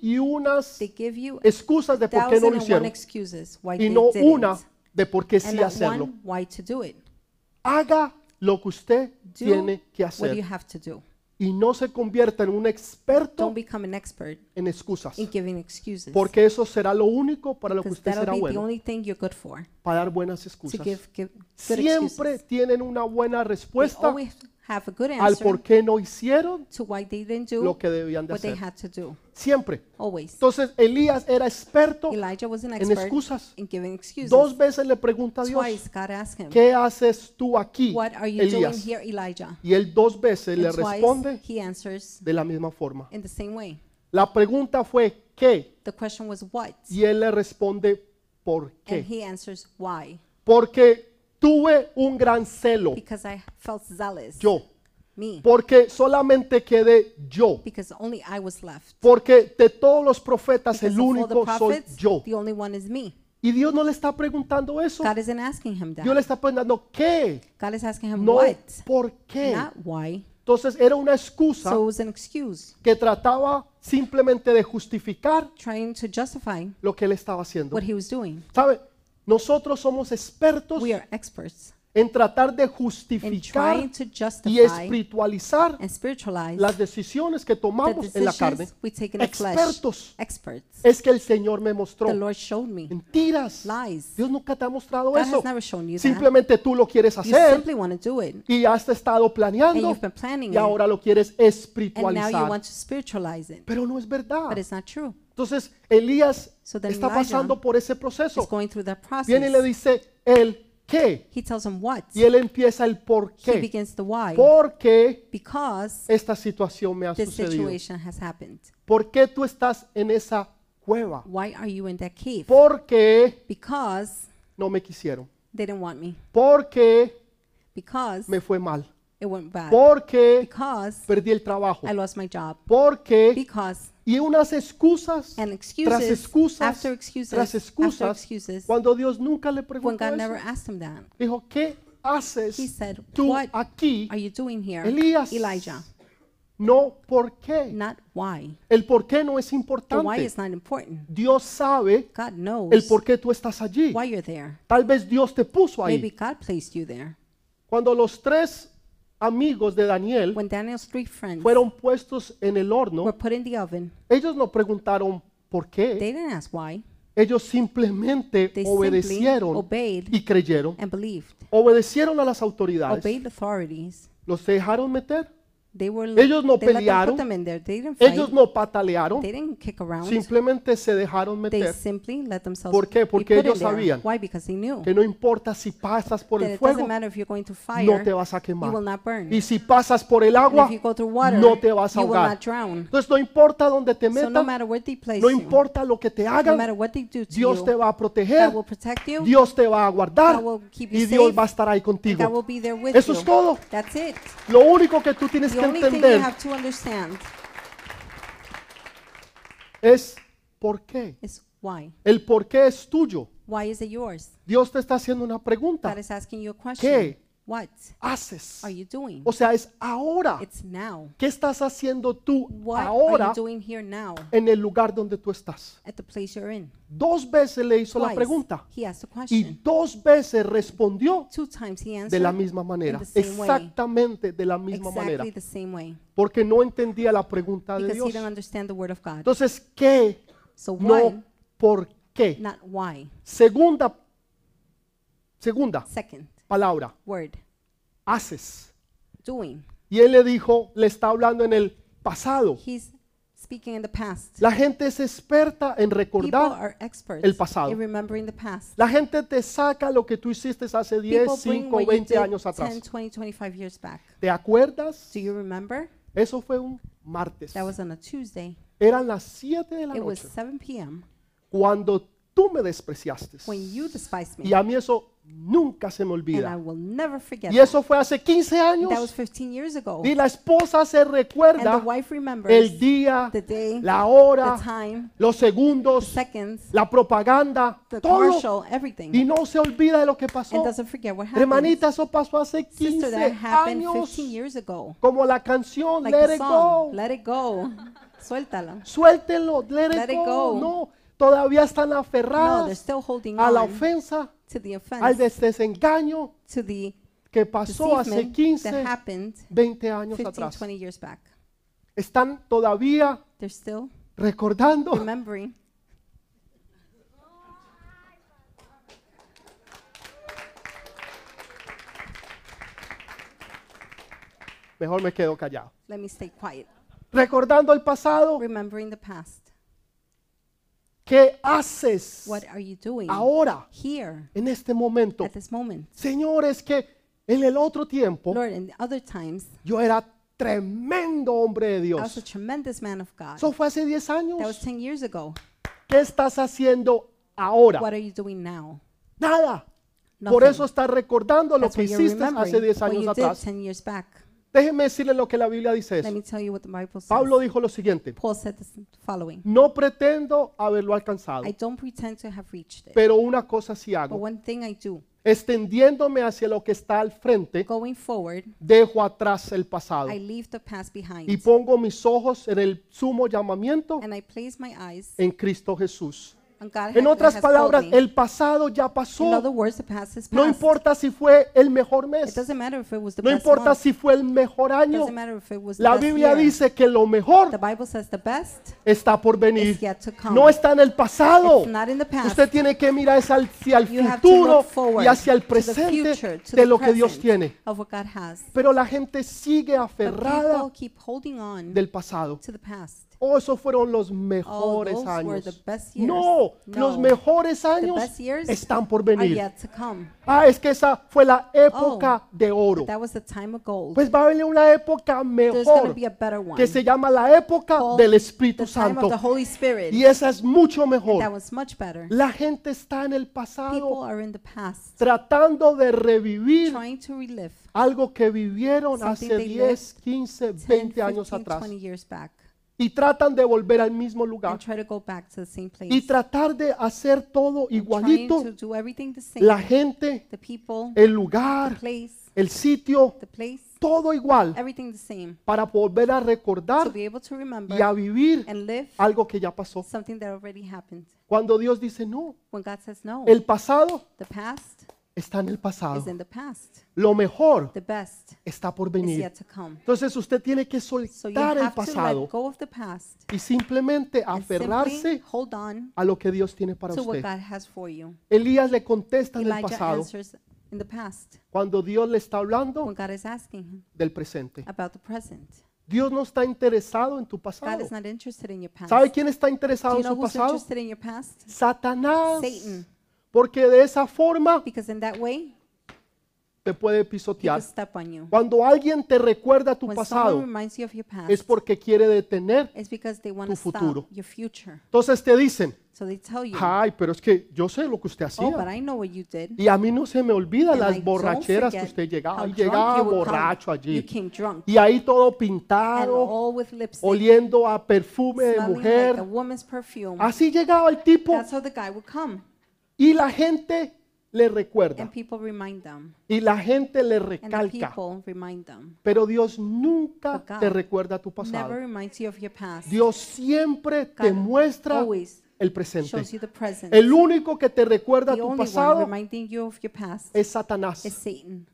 1001 they give you excusas de por qué no lo 1,001 hicieron excuses why y they no didn't, una de por qué and sí not hacerlo. one why to do it. Haga lo que usted Do tiene que what you hacer have to do. y no se convierta en un experto Don't become an expert en excusas, in giving excuses, porque eso será lo único para lo que because usted that'll será be the bueno, only thing you're good for, para dar buenas to excusas. give good Siempre excuses. tienen una buena They respuesta always have a good al answer por qué no hicieron to why they didn't lo do que debían de what they hacer. had to do. Siempre. Always. Entonces Elías era experto Elijah was an en expert excusas. in giving excuses. 2 veces le pregunta a Dios, Twice God asked him, ¿qué haces tú aquí, what are you doing Elías? here, Elijah? Y él 2 veces le And twice responde he answers de la misma forma. in the same way. La pregunta fue ¿qué? The question was what? Y él le responde ¿por And qué? he answers why? Porque tuve un gran celo, Because I felt zealous. yo. Me. Porque solamente quedé yo. Because only I was left. Porque de todos los profetas Because el of all the único soy prophets, yo. the only one is me. Y Dios no le está preguntando eso. God isn't asking him Dios that. le está preguntando ¿qué? God is asking him No what, ¿por qué? not why. Entonces era una excusa So it was an excuse, que trataba simplemente de justificar trying to justify lo que él estaba haciendo. what he was doing. ¿Sabe? Nosotros somos expertos We are experts en tratar de in justificar trying to y justify espiritualizar and spiritualize las decisiones que the tomamos en la carne. decisions we take in the flesh. Expertos. Experts. Es que el Señor me mostró The Lord showed me. mentiras. Lies. Dios nunca te ha mostrado God eso. has never shown you that. Simplemente tú lo quieres You hacer simply want to do it. y has estado And planeando you've been planning y it. ahora lo quieres And now you espiritualizar. want to spiritualize it. Pero no es verdad. But it's not true. Entonces Elías So then está Elijah pasando por ese It's proceso. going through that Viene y le process. dice el qué He tells him what. y él empieza el por He qué. begins the why. ¿Por qué Because esta situación me ha this sucedido? situation has happened. ¿Por qué tú estás en esa cueva? Why are you in that cave? ¿Por qué Because no me quisieron? they didn't want me. ¿Por qué Because me fue mal? it went bad. ¿Por qué Because perdí el trabajo? I lost my job. ¿Por qué? Because Y unas excusas and tras excuses excusas after excuses tras after excusas excuses cuando Dios nunca le when preguntó God never eso. asked him that. Dijo, ¿qué He haces said, tú "What aquí? are you doing here, Elías. Elijah? No, ¿por qué? Not why. El por qué no es The why importante. is not important. Dios sabe God knows el por qué tú estás allí. why you're there. Tal vez Dios te puso Maybe ahí. God placed you there. Cuando los tres amigos de Daniel When Daniel's three friends fueron puestos en el horno, were put in the oven, ellos no preguntaron por qué. they didn't ask why. Ellos simplemente They simply obedecieron obeyed y creyeron. and believed. Obedecieron a las autoridades. Obeyed the authorities. Los dejaron meter. They were Ellos no they let them pelearon. put them in there. They didn't fight. Ellos no patalearon. They didn't kick around. Simplemente se dejaron They meter. simply let themselves ¿Por qué? be Porque put in ellos there. sabían Why? Because they knew Que no importa si pasas por that el it doesn't fuego, matter if you're going to no fire, te vas a you quemar. will not burn. Y si pasas por el And agua, if you go through water, no te vas a you will ahogar. not drown. Entonces no importa dónde te So no metan, matter where they place no you, importa lo que te no hagan, matter what they do to Dios te you, va a proteger, God will protect you. Dios te va a guardar God will keep you y Dios safe, va a estar ahí and God contigo. will be there with Eso you. es todo. That's it. Lo único que tú tienes The que only thing you entender have to understand es por qué. is why. El por qué es tuyo. Why is it yours? Dios te está haciendo una pregunta. God is asking you a question. ¿Qué What haces? are you doing? O sea, es ahora. It's now. ¿Qué estás haciendo tú What are ahora you doing here now en el lugar donde tú estás? at the place you're in? 2 veces le hizo la Twice, pregunta he asked a y question. 2 veces respondió 2 times he de answered la misma manera, in the same way. exactamente de la misma manera, Exactly the same way. porque no entendía la pregunta de Because he Dios. didn't understand the word of God. Entonces, ¿qué? So why, No, ¿por qué? not why. Segunda Second palabra, word, haces. doing. Y él le dijo, le está hablando en el pasado. He's speaking in the past. La gente es experta en People recordar. are experts el pasado. in remembering the past. La gente te saca lo que tú hiciste hace 10, People bring 5, what you 20 did años 10, atrás. 20, 25 years back. ¿Te acuerdas? Do you remember? Eso fue un martes. That was on a Tuesday. Eran las 7 de la It was noche 7 p.m. cuando tú me despreciaste. when you despised Y me. a mí eso nunca se me And I olvida. will never forget Y eso fue hace 15 that. That was años. 15 years ago. Y la esposa se And the recuerda wife remembers el día, the day, la the hora, time, los the segundos, seconds, la propaganda, the todo. commercial, everything. Y no se olvida de lo que pasó. And doesn't forget what happened. Hermanita, eso pasó hace Sister, 15 that happened años. 15 years ago. Como la canción Like Let the It song, Go. Let It Go. Suéltala. Suéltenlo, let Let it it go. go. No, todavía están No, they're aferradas still holding a la on ofensa, to the al offense, desengaño to the que pasó hace deceitment 15, that happened 20 años 15, atrás. 20 years back. Están todavía They're still recordando. remembering. Mejor me quedo callado. Let me stay quiet. Recordando el pasado. Remembering the past. ¿Qué haces What are you doing ahora, here en este momento? at this moment? Señor, es que en el otro tiempo Lord, in the other times, yo era tremendo hombre de I was a Dios. tremendous man of God. Eso fue hace 10 That was años. 10 years ago. ¿Qué estás haciendo ahora? What are you doing now? Nada. Por Nothing. eso estás recordando lo That's que what you're hiciste hace remembering 10 what años you did atrás. 10 years back. Déjenme decirle lo que la Biblia dice Let eso. me tell you what the Bible says. Pablo dijo lo siguiente: Paul said the following. no pretendo haberlo alcanzado, I don't pretend to have reached it, pero una cosa sí but hago, one thing I do, extendiéndome hacia lo que está al frente, going forward, dejo atrás el pasado I leave the past behind, y pongo mis ojos en el sumo llamamiento and I place my eyes en Cristo Jesús. And God En otras has palabras, told me. el pasado ya In pasó. other words, the past is No past. importa si fue el mejor It mes. doesn't matter if it was the No best importa month. si fue el mejor año. Doesn't matter if it was the La best Biblia year. dice que lo mejor The Bible says the best está por venir. is yet to come. No está en el pasado. It's not in the past. Usted tiene que mirar hacia el You have to futuro look forward y hacia el to the presente future, to de the lo que Dios present tiene. of what God has. Pero la gente sigue But aferrada people keep holding on del pasado. to the past. Oh, esos fueron los Oh, mejores those were the años. best years. No, los mejores The años best years están por are venir. yet to come. Ah, es que esa fue la época de oro. But that was the time of gold. Pues va a venir una época There's going to mejor be a better one. que se llama la época called del Espíritu the time Santo. of the Holy Spirit. Y esa es mucho That mejor. was much better. La gente está en el People pasado are in the past tratando de revivir trying to relive algo que vivieron Something hace they 10, 15, 10, 20 años 15, atrás. 20 years back Y tratan de volver al mismo lugar and try to go back to the same place. y tratar de hacer todo And trying igualito. to do everything the same. La gente, The people, el the lugar, place, el sitio, the place, todo igual everything the same. para volver a To recordar be able to y a remember vivir and live algo que ya pasó. something that already happened. Cuando Dios dice no, When God says no, el pasado the past está en el pasado. is in the past. Lo mejor The best está por is venir. yet to come. Entonces usted tiene que So you soltar el have to pasado let go of the past y simplemente and aferrarse simply hold on a lo que Dios tiene para to what usted. God has for you. Elías le contesta en el Elijah pasado answers in the past cuando Dios le está hablando when God is asking him del presente. about the present. Dios no está interesado en tu God pasado. is not interested in your past. ¿Sabe quién está Do interesado you en know su who's pasado? interested in your past? Satanás. Satan. Porque de esa forma Because in that way, te puede he pisotear. could step on you. Cuando alguien te recuerda tu When someone pasado, reminds you of your past, es porque quiere detener. it's because they want tu to stop futuro. your future. Entonces te dicen, So they tell you, ay, pero es que yo sé lo que usted oh, but hacía. I know what you did. Y a mí no se me olvida And I las don't borracheras que forget usted llegaba. how Y drunk llegaba you would come. borracho You allí. came drunk Y ahí todo and pintado, all with lipstick, oliendo a perfume de smelling like mujer. a woman's perfume. Así llegaba el tipo That's how the guy would come. y la gente le recuerda. And people remind them. Y la gente le And the recalca. people remind them. Pero Dios nunca But God te recuerda tu Never pasado. reminds you of your past. Dios siempre te God muestra always el presente. shows you the present. El único que te recuerda The tu only one pasado reminding you of your past es Satanás. is Satan.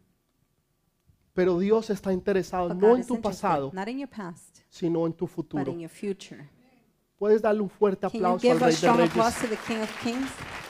Pero Dios está interesado But no God en is tu interested pasado, not in your past, sino en tu but futuro. in your future. Puedes darle un fuerte Can you aplauso al give a Rey de strong Reyes. applause to the King of Kings?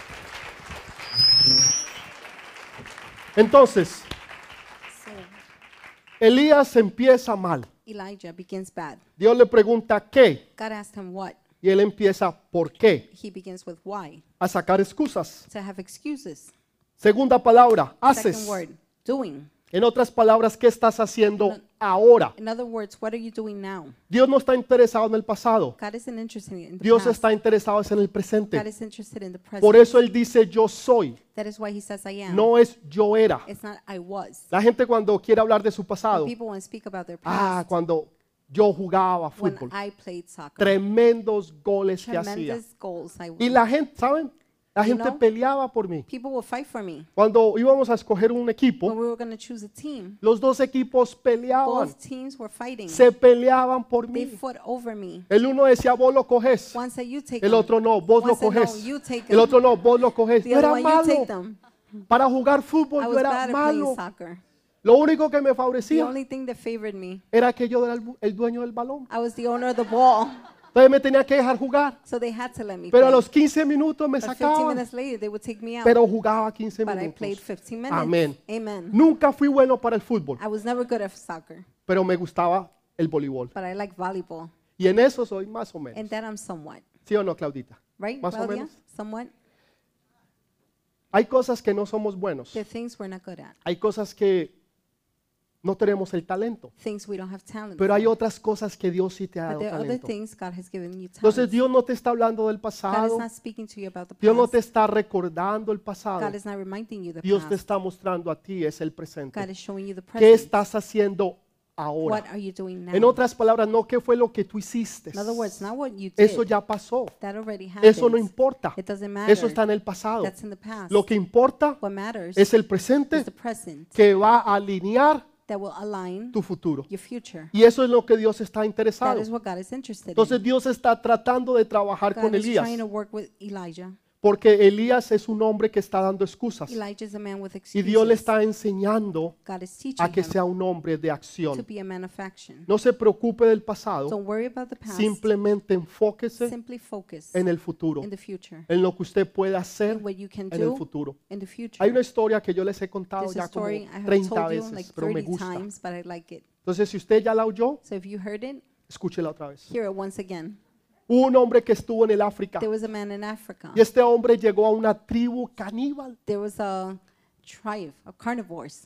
Entonces, So Elías empieza mal. Elijah begins bad. Dios le pregunta qué God asked him what. y él empieza por qué, He begins with why. a sacar excusas. To have excuses. Segunda palabra, Second haces. word, doing. En otras palabras, ¿qué estás haciendo ahora? In other words, what are you doing now? Dios no está interesado en el pasado. God isn't interested in the Dios past. está interesado en el God presente. is interested in the present. Por eso Él dice yo soy, That is why he says I am. no es yo era. It's not I was. La gente cuando quiere hablar de su pasado, People want to speak about their ah, past. cuando yo jugaba When fútbol, I played soccer. tremendos goles que hacía. Tremendous goals I Y won. la gente, ¿saben? La You gente know? peleaba por mí. People will fight for me. Cuando íbamos a escoger un When equipo, we were going to choose a team, los dos equipos peleaban, both teams were fighting. se peleaban por They mí. fought over me. El uno decía, vos lo coges. One said you take El them. otro no, vos One lo said, no, coges. you take El them. otro no, vos lo coges. The Yo other era one, you take malo. them. Para jugar fútbol I yo was era bad at malo. playing soccer. Lo único que me The favorecía only thing that favored me, era que yo era el dueño del balón. I was the owner of the ball. Entonces me tenía que dejar jugar. So they had to let me Pero a play. los 15 minutos me But 15 sacaban. minutes later, they would take me out. Pero jugaba 15 But I played minutos. 15 minutes. Amén. Amen. Nunca fui bueno para el fútbol, I was never good at soccer, pero me gustaba el voleibol. but I like volleyball. Y en eso soy más o And menos. that I'm somewhat. ¿Sí o no, Claudita? Right, Más o Claudia? menos. Somewhat. Hay cosas que no somos buenos. There are things we're not good at. Hay cosas que no tenemos el talento. Things we don't have talent Pero hay for. otras cosas que Dios sí te ha But dado there are other talento. things God has given you Entonces talent. Dios no te está hablando del God is pasado. not speaking to you about the Dios no past. te está recordando el pasado. God is not reminding you the Dios te past. está mostrando a ti es el God presente. is showing you the ¿Qué present. estás haciendo What ahora? are you doing now? En otras palabras, no qué fue lo que tú hiciste. In other words, not what you did. Eso ya pasó. That already happened. Eso no importa. It doesn't matter. Eso está en el pasado. That's in the past. Lo que importa What matters es el is presente the present que va a alinear that will align tu futuro. your future. Y eso es lo que Dios está That interesado. is what God is interested Entonces in. Dios está tratando de trabajar God con is Elías. trying to work with Elijah. Porque Elías es un hombre que está dando excusas. Elijah is a man with Y Dios le excuses. está enseñando God is teaching a que him sea un hombre de to acción. be a man of action. No se preocupe del pasado, Don't worry about the past. simplemente enfóquese Simply focus en el futuro, in the future, en lo que usted puede hacer in what you can en el do futuro. in the future. Hay una historia que yo les he contado There's a ya como story I have 30 told you like veces, pero me 30 gusta. times, but I like it. Entonces, si usted ya la oyó, So if you heard it, escúchela otra vez. hear it once again. Hubo un hombre que estuvo en el África There was a man in Africa. y este hombre llegó a una tribu caníbal There was a tribe of carnivores,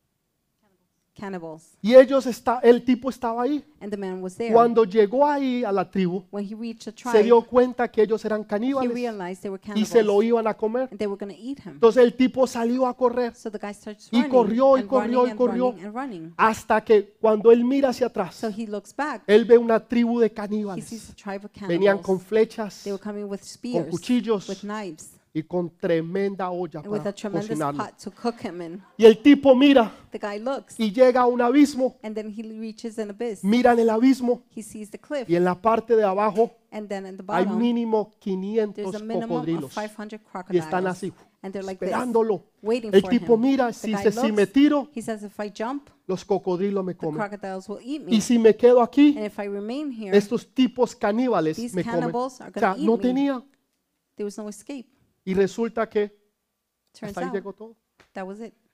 cannibals, y el tipo estaba ahí. and the man was there. Cuando llegó ahí a la tribu, When he reached a se tribe, dio cuenta que ellos eran he caníbales realized they were y se lo cannibals, iban a comer. and they were going to eat him. Entonces el tipo salió a correr So the guy starts y running corrió y and corrió running y and corrió running and running. hasta que cuando él mira hacia atrás, So he looks back. él ve una tribu de He sees caníbales. a tribe of Venían con cannibals. flechas They were coming with spears, cuchillos with knives, y con tremenda olla and with para a tremendous cocinarlo. pot to cook him in. Y el tipo mira The guy looks, y llega a un abismo, and then he reaches an abyss. mira en el abismo He sees the cliff, y en la parte de abajo and then at the hay bottom, mínimo there's 500 a minimum of cocodrilos 500 y están crocodiles, así and they're like this, esperándolo. waiting El for tipo him. mira, The si guy si me looks, tiro, he says, if I jump, los cocodrilos me the comen. crocodiles will eat Y me, si me quedo aquí, and if I remain here, estos tipos caníbales these me comen. cannibals are O sea, going to no eat me. tenía. There was no escape. Y resulta que Turns hasta ahí out, llegó todo. that was it.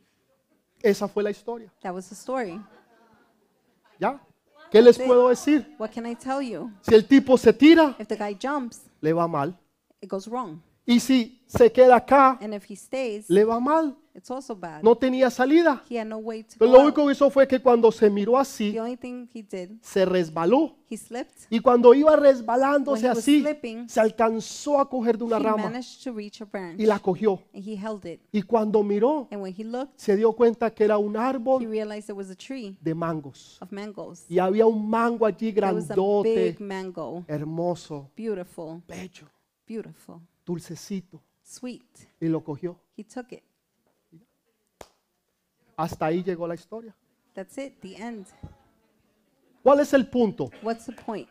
Esa fue la historia. That was the story. ¿Ya? ¿Qué les Sí. puedo decir? What can I tell you? Si el tipo se tira, If the guy jumps, le va mal. it goes wrong. Y si se queda acá, And if he stays, le va mal. it's also bad. No tenía salida. He had no way to Pero go lo out. único que hizo fue que cuando se miró así, The only thing he did, se resbaló. he slipped. Y cuando iba When resbalándose he was así, slipping, se alcanzó a coger de una he rama managed to reach a branch, y la cogió. and he held it. Y cuando miró, And when he looked, se dio cuenta que era un he árbol realized it was a tree de mangos. of mangoes. Y había un mango allí There was a grandote, big mango, hermoso, beautiful, bello, beautiful, dulcecito. sweet. Y lo cogió. He took it. Hasta ahí llegó la historia. That's it, the end. ¿Cuál es el punto? What's the point?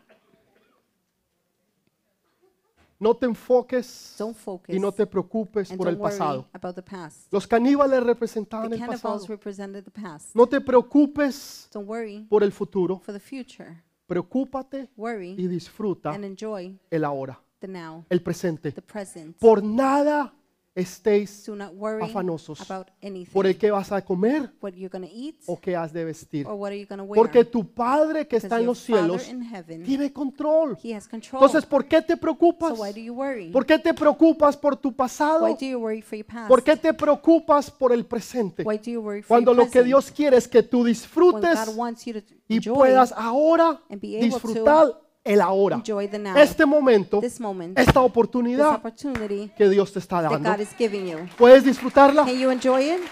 No te enfoques Don't focus y no te preocupes and por el don't worry pasado. about the past. Los caníbales representaban The el pasado. cannibals represented the past. No te preocupes Don't worry por el futuro. for the future. Preocúpate y Worry disfruta and enjoy el ahora, the now, el presente. the present. Por nada estéis Do not worry afanosos about anything. por el que vas a comer What you're going to eat o qué has de vestir. or what are you going to wear. Porque tu Padre que Because está en your los cielos Father in heaven, tiene control. He has control. Entonces, ¿por qué te preocupas? So why do you worry? ¿Por qué te preocupas por tu Why pasado? do you worry for your past? ¿Por qué te preocupas por el presente? Why do you worry for Cuando your lo que present? Dios quiere es que tú When disfrutes God wants you to y enjoy, puedas ahora and be able to disfrutar el ahora. enjoy the now, Este momento, this moment, esta this oportunidad opportunity que Dios te está that dando. God is giving you. ¿Puedes disfrutarla? Can you enjoy it?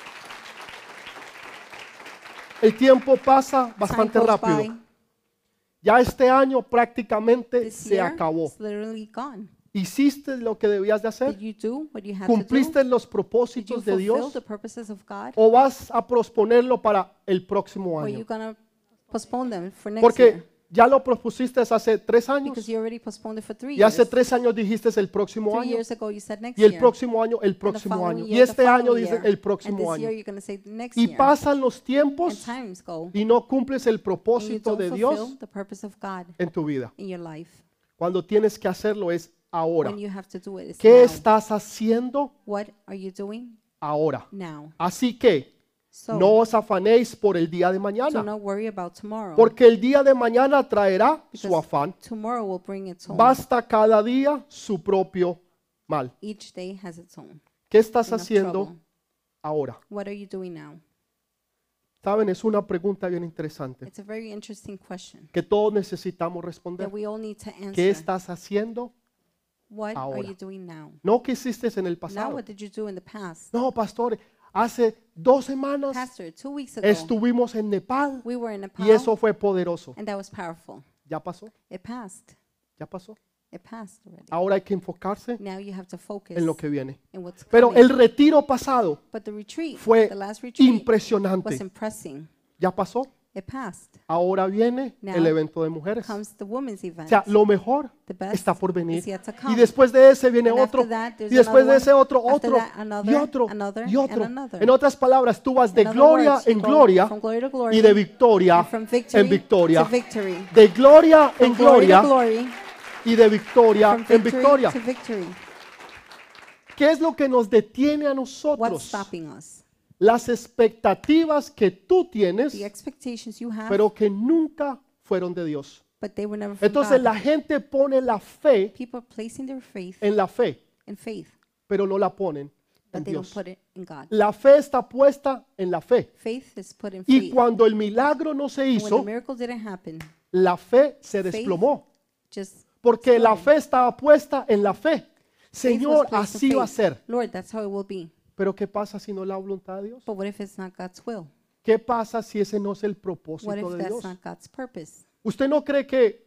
El tiempo pasa Time bastante goes rápido. by. Ya este año prácticamente This se year acabó. is literally gone. ¿Hiciste lo que debías de Did hacer? you do what you had to ¿Cumpliste do? los Did you propósitos de fulfill Dios? the purposes of God? ¿O vas a posponerlo para el próximo Or are you año? going to postpone them for next Porque year? ya lo propusiste hace 3 años Because you already postponed it for 3 y years. hace 3 años dijiste el próximo 3 año years ago you said next y el year. próximo año el And the próximo following año y year, the este año following dices year. el And próximo this año year you're going to say the next y year. pasan los And tiempos times go. y no cumples el And you propósito don't de fulfill Dios the purpose of God en tu vida. in your life. Cuando tienes que hacerlo es ahora. When you have to do it, it's ¿Qué now. estás haciendo What are you doing ahora? now? Así que So, no os afanéis por el día de do mañana, not worry about tomorrow. porque el día de mañana traerá su Because afán. tomorrow will bring its own. Basta cada día su propio mal. Each day has its own. ¿Qué estás Enough haciendo trouble. ahora? What are you doing now? Saben, es una pregunta bien interesante It's a very interesting question que todos necesitamos responder. that we all need to ¿Qué answer. estás haciendo? What are ahora? you doing now? No que hiciste en el Now pasado. what did you do in the past? No, pastor, hace 2 semanas Pastor, 2 weeks ago, estuvimos en Nepal we were in Nepal, y eso fue poderoso. and that was powerful. Ya pasó, It passed. ya pasó. It passed already. Ahora hay que enfocarse Now you have to focus en lo que viene. in what's Pero coming. el retiro pasado But the retreat, fue the last retreat, was impresionante. impressing. ¿Ya pasó? It passed. Ahora viene Now el evento de mujeres. Comes the women's O event. sea, lo mejor The best está por venir. is yet to Y come. después de ese viene And otro. after that, there's Y después de another ese otro, one. After otro. that, another, Y otro. another, Y otro. and another. En otras palabras, tú vas de In other gloria words, you en go gloria from glory to glory, y de victoria and from victory en victoria. to victory. De gloria en From glory to gloria glory, y de victoria from en victory victoria. to victory. ¿Qué es lo que nos detiene a What's nosotros? stopping us? Las expectativas que tú tienes, The expectations you have, pero que nunca fueron de Dios. but they were never from Entonces God. la gente pone la fe People are placing their faith en la fe, in faith, pero no la ponen en but they don't Dios. put it in God. La fe está puesta en la fe. Faith is put in Y faith. cuando el milagro no se And when the hizo, miracle didn't happen, la fe se desplomó. just Porque la fe estaba puesta en la fe. faith Señor, was placed in así va a faith. ser. Lord, that's how it will be. Pero ¿qué pasa si no es la voluntad de Dios? But what if it's not God's will? ¿Qué pasa si ese no es el What propósito if de that's Dios? not God's purpose? ¿Usted no cree que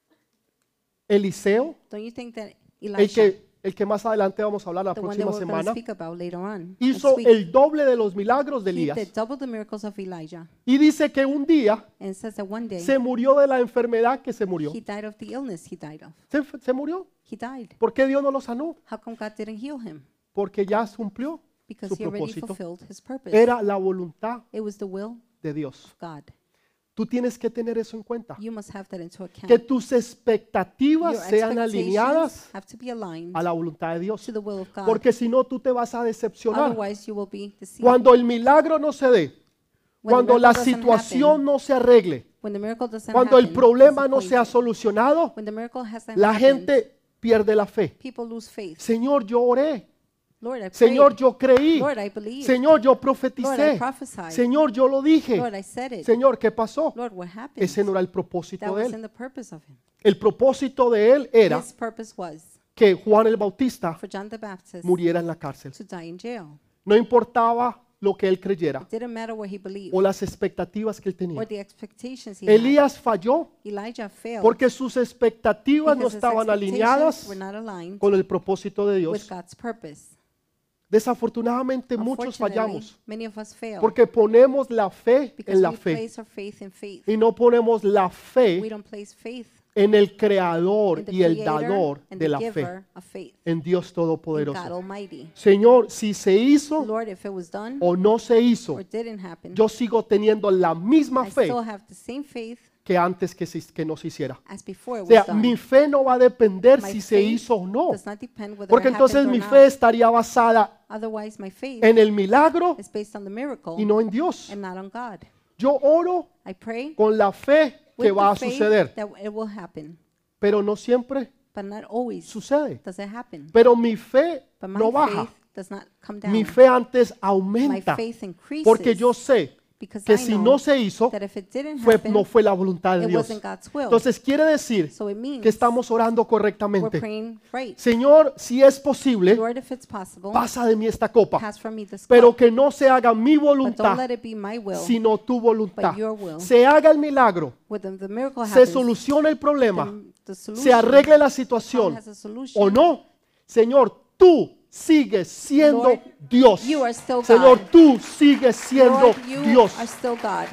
Eliseo, Don't you think that el Elisha, que más adelante vamos a hablar la the one that próxima we're going to semana, speak about later on, hizo next week, el doble de los milagros de he Elías? did double the miracles of Elijah. Y dice que un día And it says that one day se murió de la enfermedad que se murió. he died of the illness he died of. Se murió. He died. ¿Por qué Dios no lo sanó? How come God didn't heal him? Porque ya cumplió Because su he already propósito. fulfilled his purpose. Era la voluntad It was the will de Dios. of God. Tú tienes que tener eso en cuenta. You must have that into account. Que tus expectativas Your sean alineadas expectations have to be aligned a la voluntad de Dios. to the will of God. Porque si no, tú te vas a decepcionar. Otherwise, you will be deceived. Cuando el milagro no se dé, When the cuando la miracle doesn't situación happen, no se arregle, when the miracle doesn't cuando el happen, problema no sea disappointed. solucionado, When the miracle hasn't la happened, gente pierde la fe. people lose faith. Señor, yo oré. Lord, I prayed. Señor, yo creí. Lord, I believed. Señor, yo Lord, I profeticé. prophesied. Señor, yo lo dije. Lord, I said it. Señor, ¿qué pasó? Lord, what happened? Ese no era el That propósito de was él. in the purpose of him. El propósito de él era His purpose was que Juan el Bautista for John the Baptist muriera en la cárcel. to die in jail. No importaba lo que él creyera It didn't matter what he believed o las expectativas que él or tenía. the expectations he had. Elías falló Elijah failed porque sus expectativas no because his estaban expectations alineadas were not aligned con el propósito de with Dios. God's purpose. Desafortunadamente muchos Unfortunately, fallamos many of us fail porque ponemos la fe because en la we fe place our faith in faith. y no ponemos la We fe don't place faith en el creador in the y el creator dador and de the la fe, giver of faith, en Dios in God Todopoderoso. Almighty. Señor, si se hizo Lord, if it was done o no se hizo, or didn't happen, yo sigo teniendo la misma I fe still have the same faith que antes que no se hiciera. as before it O sea, was done. mi fe no va a depender My si se faith hizo o no, does not depend whether porque it entonces happened mi or fe not. estaría basada Otherwise, my faith en el milagro is based on the miracle y no en Dios. and not on God. Yo oro I pray con la fe que with va a the faith suceder, that it will happen, pero no siempre but not always sucede. does it happen. Pero mi fe But my no baja, faith does not come down. mi fe antes My aumenta, faith increases porque yo sé because que I si know no se hizo, that if it didn't no happen, fue la voluntad de it Dios. wasn't God's will. Entonces quiere decir So it means que estamos orando we're correctamente. praying right. Señor, si es posible, Lord, if it's possible, pasa de mí esta copa, pass from me this pero cup, que no se haga mi but don't voluntad, let it be my will, sino tu voluntad. but your will. Se haga el milagro, When the miracle se happens, soluciona el problema, the solution, se arregle la God situación has a solution. o no. Señor, tú sigues siendo Lord, Dios. you are still Señor, God. tú sigues siendo Lord, you Dios. are still God.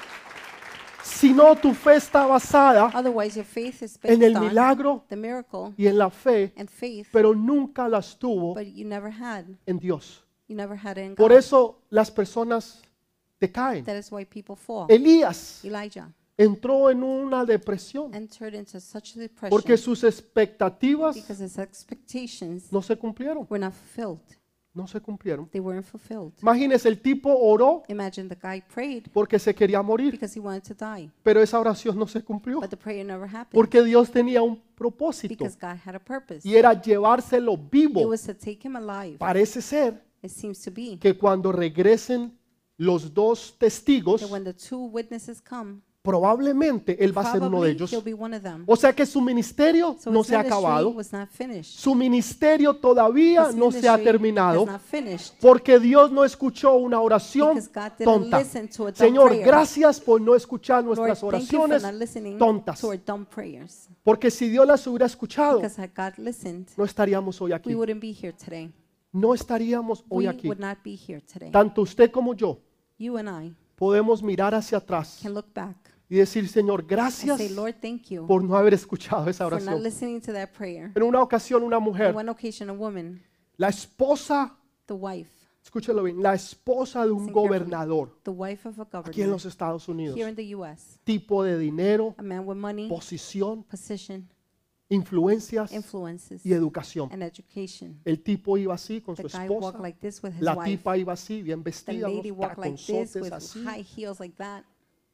Si no, tu fe está basada Otherwise, your faith is en based el on milagro the miracle y en la fe, and faith, pero nunca las tuvo but you never had. en Dios. You never had it in Por God. eso las personas decaen. That is why people fall. Elías Elijah entró en una depresión entered into such a depression porque sus expectativas because his expectations no se cumplieron. were not fulfilled. No se cumplieron. They weren't fulfilled. Imagínese, el tipo oró Imagine the guy prayed porque se quería morir, because he wanted to die, pero esa oración no se cumplió but the prayer never happened porque Dios tenía un propósito because God had a purpose. y era llevárselo It vivo. was to take him alive. Parece ser It seems to be que cuando regresen los dos testigos, that when the two witnesses come, probablemente él va a ser uno de probably ellos. he'll be one of them. O sea que su ministerio So no his se ha ministry acabado, was not finished. su ministerio todavía His no se ha ministry terminado, is not finished porque Dios no escuchó una oración because God didn't tonta. listen to a dumb Señor, prayer. gracias por no escuchar Lord, nuestras thank you for oraciones not listening tontas, to our dumb prayers. porque si Dios las hubiera escuchado, Because had God listened, no estaríamos hoy we aquí. wouldn't be here today. No estaríamos hoy We aquí. would not be here today. Tanto usted como yo You and I podemos mirar hacia atrás can look back y decir, Señor, and gracias say, Lord, thank you por no haber escuchado esa for not oración. listening to that prayer. En una ocasión, una On mujer, one occasion, a woman, la esposa, the wife escúchelo bien, la esposa de un Listen carefully. gobernador of a aquí en governor los Estados Unidos, here in the U.S., tipo de dinero, a man with money, posición, position, influencias influences, y educación. and education. El tipo iba así con su The guy esposa, walked like this with his la wife. tipa iba así, bien The vestida, lady unos walked like this with taconzotes así, high heels like that.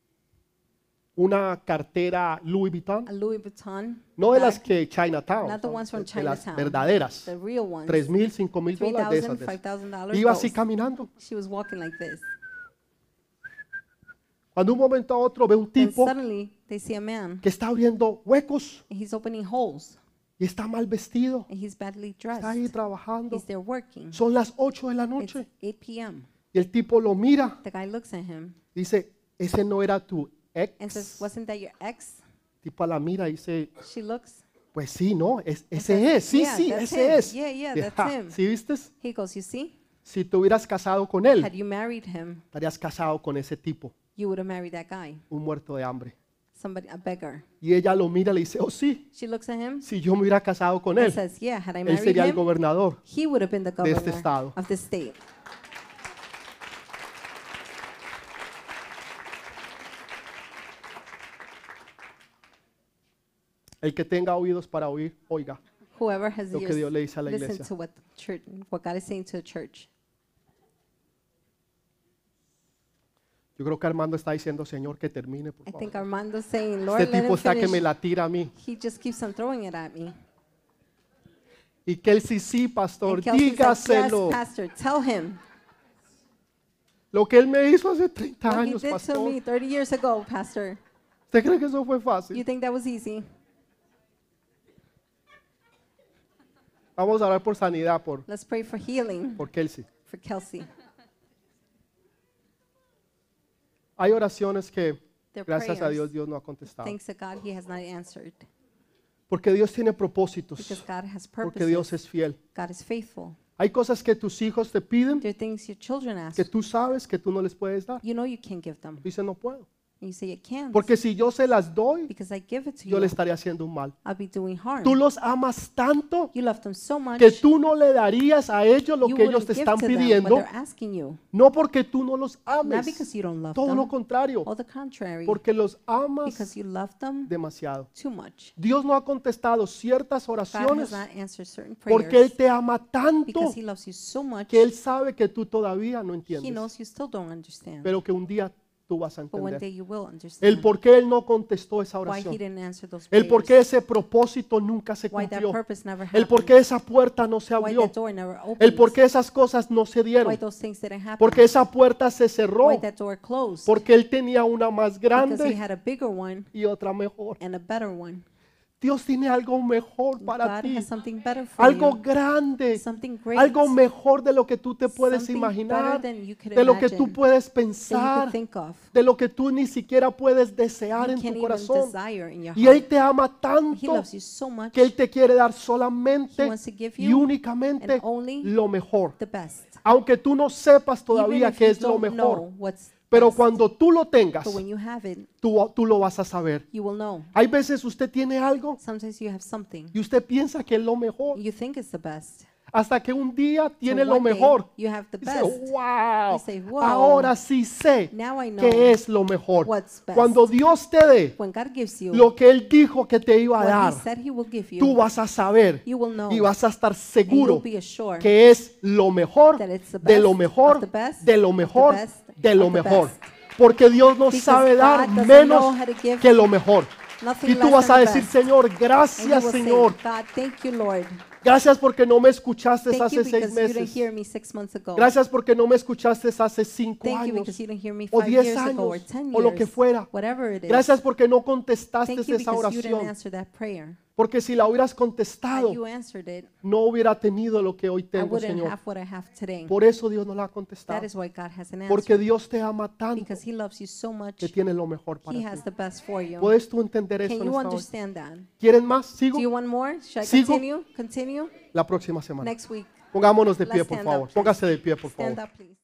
una cartera Louis A Vuitton, Louis Vuitton no de bag, las que Chinatown, not the ones from de las Chinatown, verdaderas, the real ones. 3,000, 5,000 dólares de esas. $3,000, $5,000. Iba así those. caminando. She was walking like this. Cuando un momento a otro ve un Then tipo suddenly they see a man, que está abriendo huecos and he's opening holes, y está mal vestido, and he's badly está ahí dressed. trabajando. He's there working. Son las 8 de la It's noche 8 p.m. y el tipo lo mira, The guy looks at him dice, ese no era tu and says, ex. "Wasn't that your ex?" Tipa la mira y dice, She looks. pues sí, no, and ese says, es, sí, "Yeah, sí, that's ese him. es. Yeah, Y, that's ja, him." ¿sí viste? He goes, "You see, Si te hubieras casado con él, had you married him, estarías casado con ese tipo, you would have married that guy, un muerto de hambre. somebody, a beggar." Y ella lo mira y le dice, oh sí, She looks at him si yo me hubiera casado con and él, says, "Yeah, had I él married sería el him, gobernador. he would have been the de este governor estado." of this state." El que tenga oídos para oír, oiga Whoever has lo que ears, Dios le dice a la listen iglesia. to what God is saying to the church. Yo creo que Armando está diciendo, Señor, que termine, por I think favor. Armando's saying, "Lord, Este let tipo him está que me finish." la tira a mí. He just keeps on throwing it at me. Y que él sí, pastor, And Kelsey's like, dígaselo. "Yes, pastor, tell him Lo que él me hizo hace 30 what he años, did to pastor. me 30 years ago, pastor. ¿Usted cree que eso fue You fácil? think that was easy?" Vamos a orar por sanidad, Let's pray for healing por Kelsey. for Kelsey. Hay oraciones que, Their gracias a prayers, Dios, Dios no ha contestado. thanks to God, He has not answered. Porque Dios tiene propósitos. Because God has Porque Dios purposes. es fiel. God is faithful. Hay cosas que tus hijos te piden There are things your children ask. que tú sabes que tú no les puedes dar. You know you can't give them. Dice, no puedo. And you say, "It can't." Porque si yo se las doy, Because I give it to yo you, le estaría haciendo un mal. I'll be doing harm. Tú los amas tanto You love them so much, que tú no le darías a ellos lo you que ellos wouldn't te give están to them what pidiendo, they're asking you. no porque tú no los Not ames, because you don't love todo lo them, contrario, or the contrary, porque los amas because you love them demasiado. too much. Dios no ha contestado ciertas God oraciones has not answered certain porque Él prayers te ama tanto because He loves you so much. que Él sabe que tú todavía no He entiendes, knows you still don't understand, pero que un día tú vas a but one day entender. you will El understand por qué Él no contestó esa why He oración, didn't answer those el por qué prayers, ese propósito nunca se why that cumplió, purpose never el por happened, qué esa puerta no se why abrió, that door never el por opened, qué esas cosas no se why dieron, those things didn't happen, porque esa puerta se cerró, why that door closed, porque Él tenía una más because He grande had a bigger one y otra mejor. and a better one. Dios tiene algo mejor para God ti, has something better for algo you, grande, something great, algo mejor de lo que tú te puedes something imaginar, better than you could de lo que tú imagine, puedes that you pensar, could think of, de lo que tú ni siquiera puedes desear you en can't tu even corazón. desire in your Y Él heart. te ama He tanto loves you so much, que Él te quiere dar He solamente wants to give y you únicamente and only lo mejor. the best. Aunque tú no sepas Even todavía if qué you es lo don't mejor, know what's pero best, cuando tú lo tengas, but when you have it, tú lo vas a saber. you will know. Hay veces usted tiene algo Sometimes you have something, y usted piensa que es lo mejor, you think it's the best. hasta que un día tiene So lo one day, mejor. you have the Dice, best. wow, You say, wow, ahora sí sé now I know qué es lo mejor. what's best. Cuando Dios te dé When God gives you lo que Él dijo que te iba a what He dar, said He will give tú you, vas a saber you will know, y vas a estar and you'll seguro be assured que es lo mejor, that it's the de lo best mejor, of the best, de lo of the mejor, best, de lo of the mejor. best. Porque Dios no Because sabe dar God doesn't menos know how to give que lo mejor. nothing Y tú less vas a than the decir, best. Señor, And you gracias, will Señor. say, God, thank you, Lord. Gracias porque no me escuchaste Thank you hace 6 because you didn't meses. hear me 6 months ago. Gracias porque no me escuchaste hace 5 Thank you años because you didn't hear me o 5 10 years ago or años 10 o lo que years, fuera. whatever it is. Gracias porque no contestaste Thank you esa because you didn't oración. answer that prayer. Porque si la hubieras Had contestado, you answered it, no hubiera tenido lo que hoy I tengo, wouldn't Señor. have what I have today. Por eso Dios no la ha That contestado. is why God hasn't Porque answered. Dios te ama tanto Because He loves you so much, que tiene lo mejor para He has ti. the best for you. ¿Puedes tú entender eso Can en you esta hora? understand that? ¿Quieren más? ¿Sigo? Do you want more? Should I ¿Sigo? continue? Continue? La próxima semana. Next week. Pongámonos de pie, Let's por stand favor. up, please. Póngase de pie, por Stand favor. up, please.